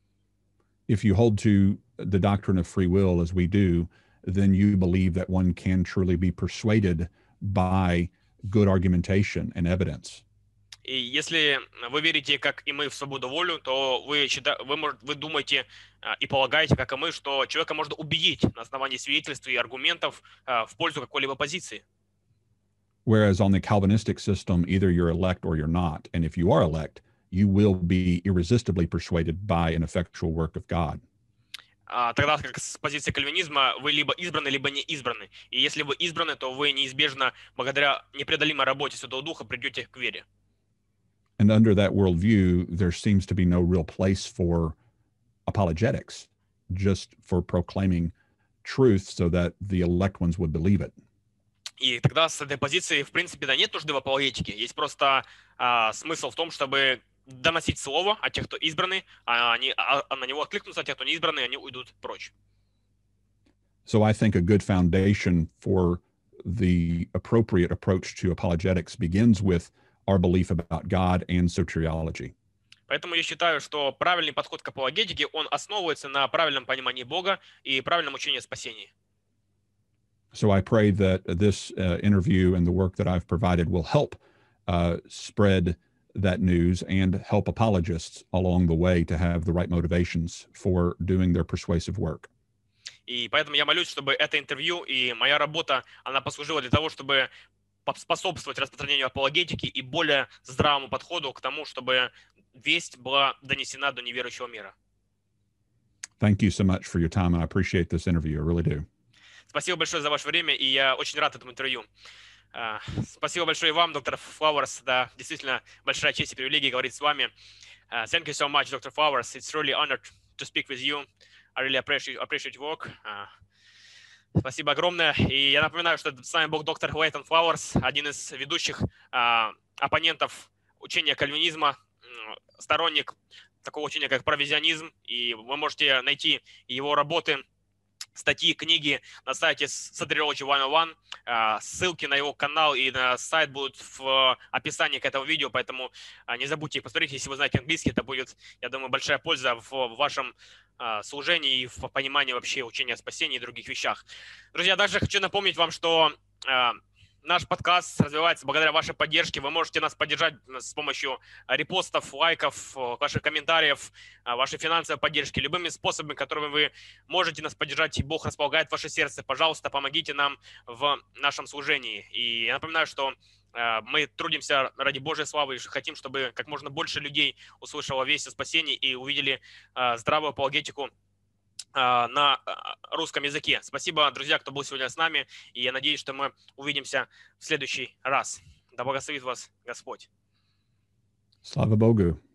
If you hold to the doctrine of free will as we do, then you believe that one can truly be persuaded by good argumentation and evidence. И если вы верите, как и мы, в свободу волю, то вы думаете и полагаете, как и мы, что человека можно убедить на основании свидетельств и аргументов в пользу какой-либо позиции. Whereas on the Calvinistic system, either you're elect or you're not. And if you are elect, you will be irresistibly persuaded by an effectual work of God. Тогда как с позиции кальвинизма вы либо избраны, либо не избраны. И если вы избраны, то вы неизбежно, благодаря непреодолимой работе Святого Духа, придете к вере. And under that worldview, there seems to be no real place for apologetics, just for proclaiming truth so that the elect ones would believe it. И тогда с этой позиции, в принципе, да, нет нужды в апологетике. Есть просто смысл в том, чтобы доносить слово о тех, кто избраны, они на него откликнутся, а те, кто не избраны, они уйдут прочь. So I think a good foundation for the appropriate approach to apologetics begins with our belief about God and soteriology. Поэтому я считаю, что правильный подход к апологетике, он основывается на правильном понимании Бога и правильном учении о спасении. So I pray that this interview and the work that I've provided will help spread that news and help apologists along the way to have the right motivations for doing their persuasive work. И поэтому я молюсь, чтобы это интервью и моя работа, она послужила для того, чтобы способствовать распространению апологетики и более здравому подходу к тому, чтобы весть была донесена до неверующего мира. Thank you so much for your time, and I appreciate this interview. I really do. Спасибо большое за ваше время, и я очень рад этому интервью. Спасибо большое и вам, доктор Flowers. Да, действительно, большая честь и привилегия говорить с вами. Thank you so much, Dr. Flowers. It's really honored to speak with you. I really appreciate your work. Спасибо огромное. И я напоминаю, что с вами был доктор Лейтон Флауэрс, один из ведущих оппонентов учения кальвинизма, сторонник такого учения, как провизионизм. И вы можете найти его работы, статьи, книги на сайте Soteriology 101. Ссылки на его канал и на сайт будут в описании к этому видео, поэтому не забудьте их посмотреть. Если вы знаете английский, это будет, я думаю, большая польза в вашем служении и в понимании вообще учения о спасении и других вещах. Друзья, также хочу напомнить вам, что наш подкаст развивается благодаря вашей поддержке. Вы можете нас поддержать с помощью репостов, лайков, ваших комментариев, вашей финансовой поддержки, любыми способами, которыми вы можете нас поддержать, и Бог располагает ваше сердце. Пожалуйста, помогите нам в нашем служении. И я напоминаю, что мы трудимся ради Божьей славы и хотим, чтобы как можно больше людей услышало весть о спасении и увидели здравую апологетику на русском языке. Спасибо, друзья, кто был сегодня с нами, и я надеюсь, что мы увидимся в следующий раз. Да благословит вас Господь. Slava Bogu.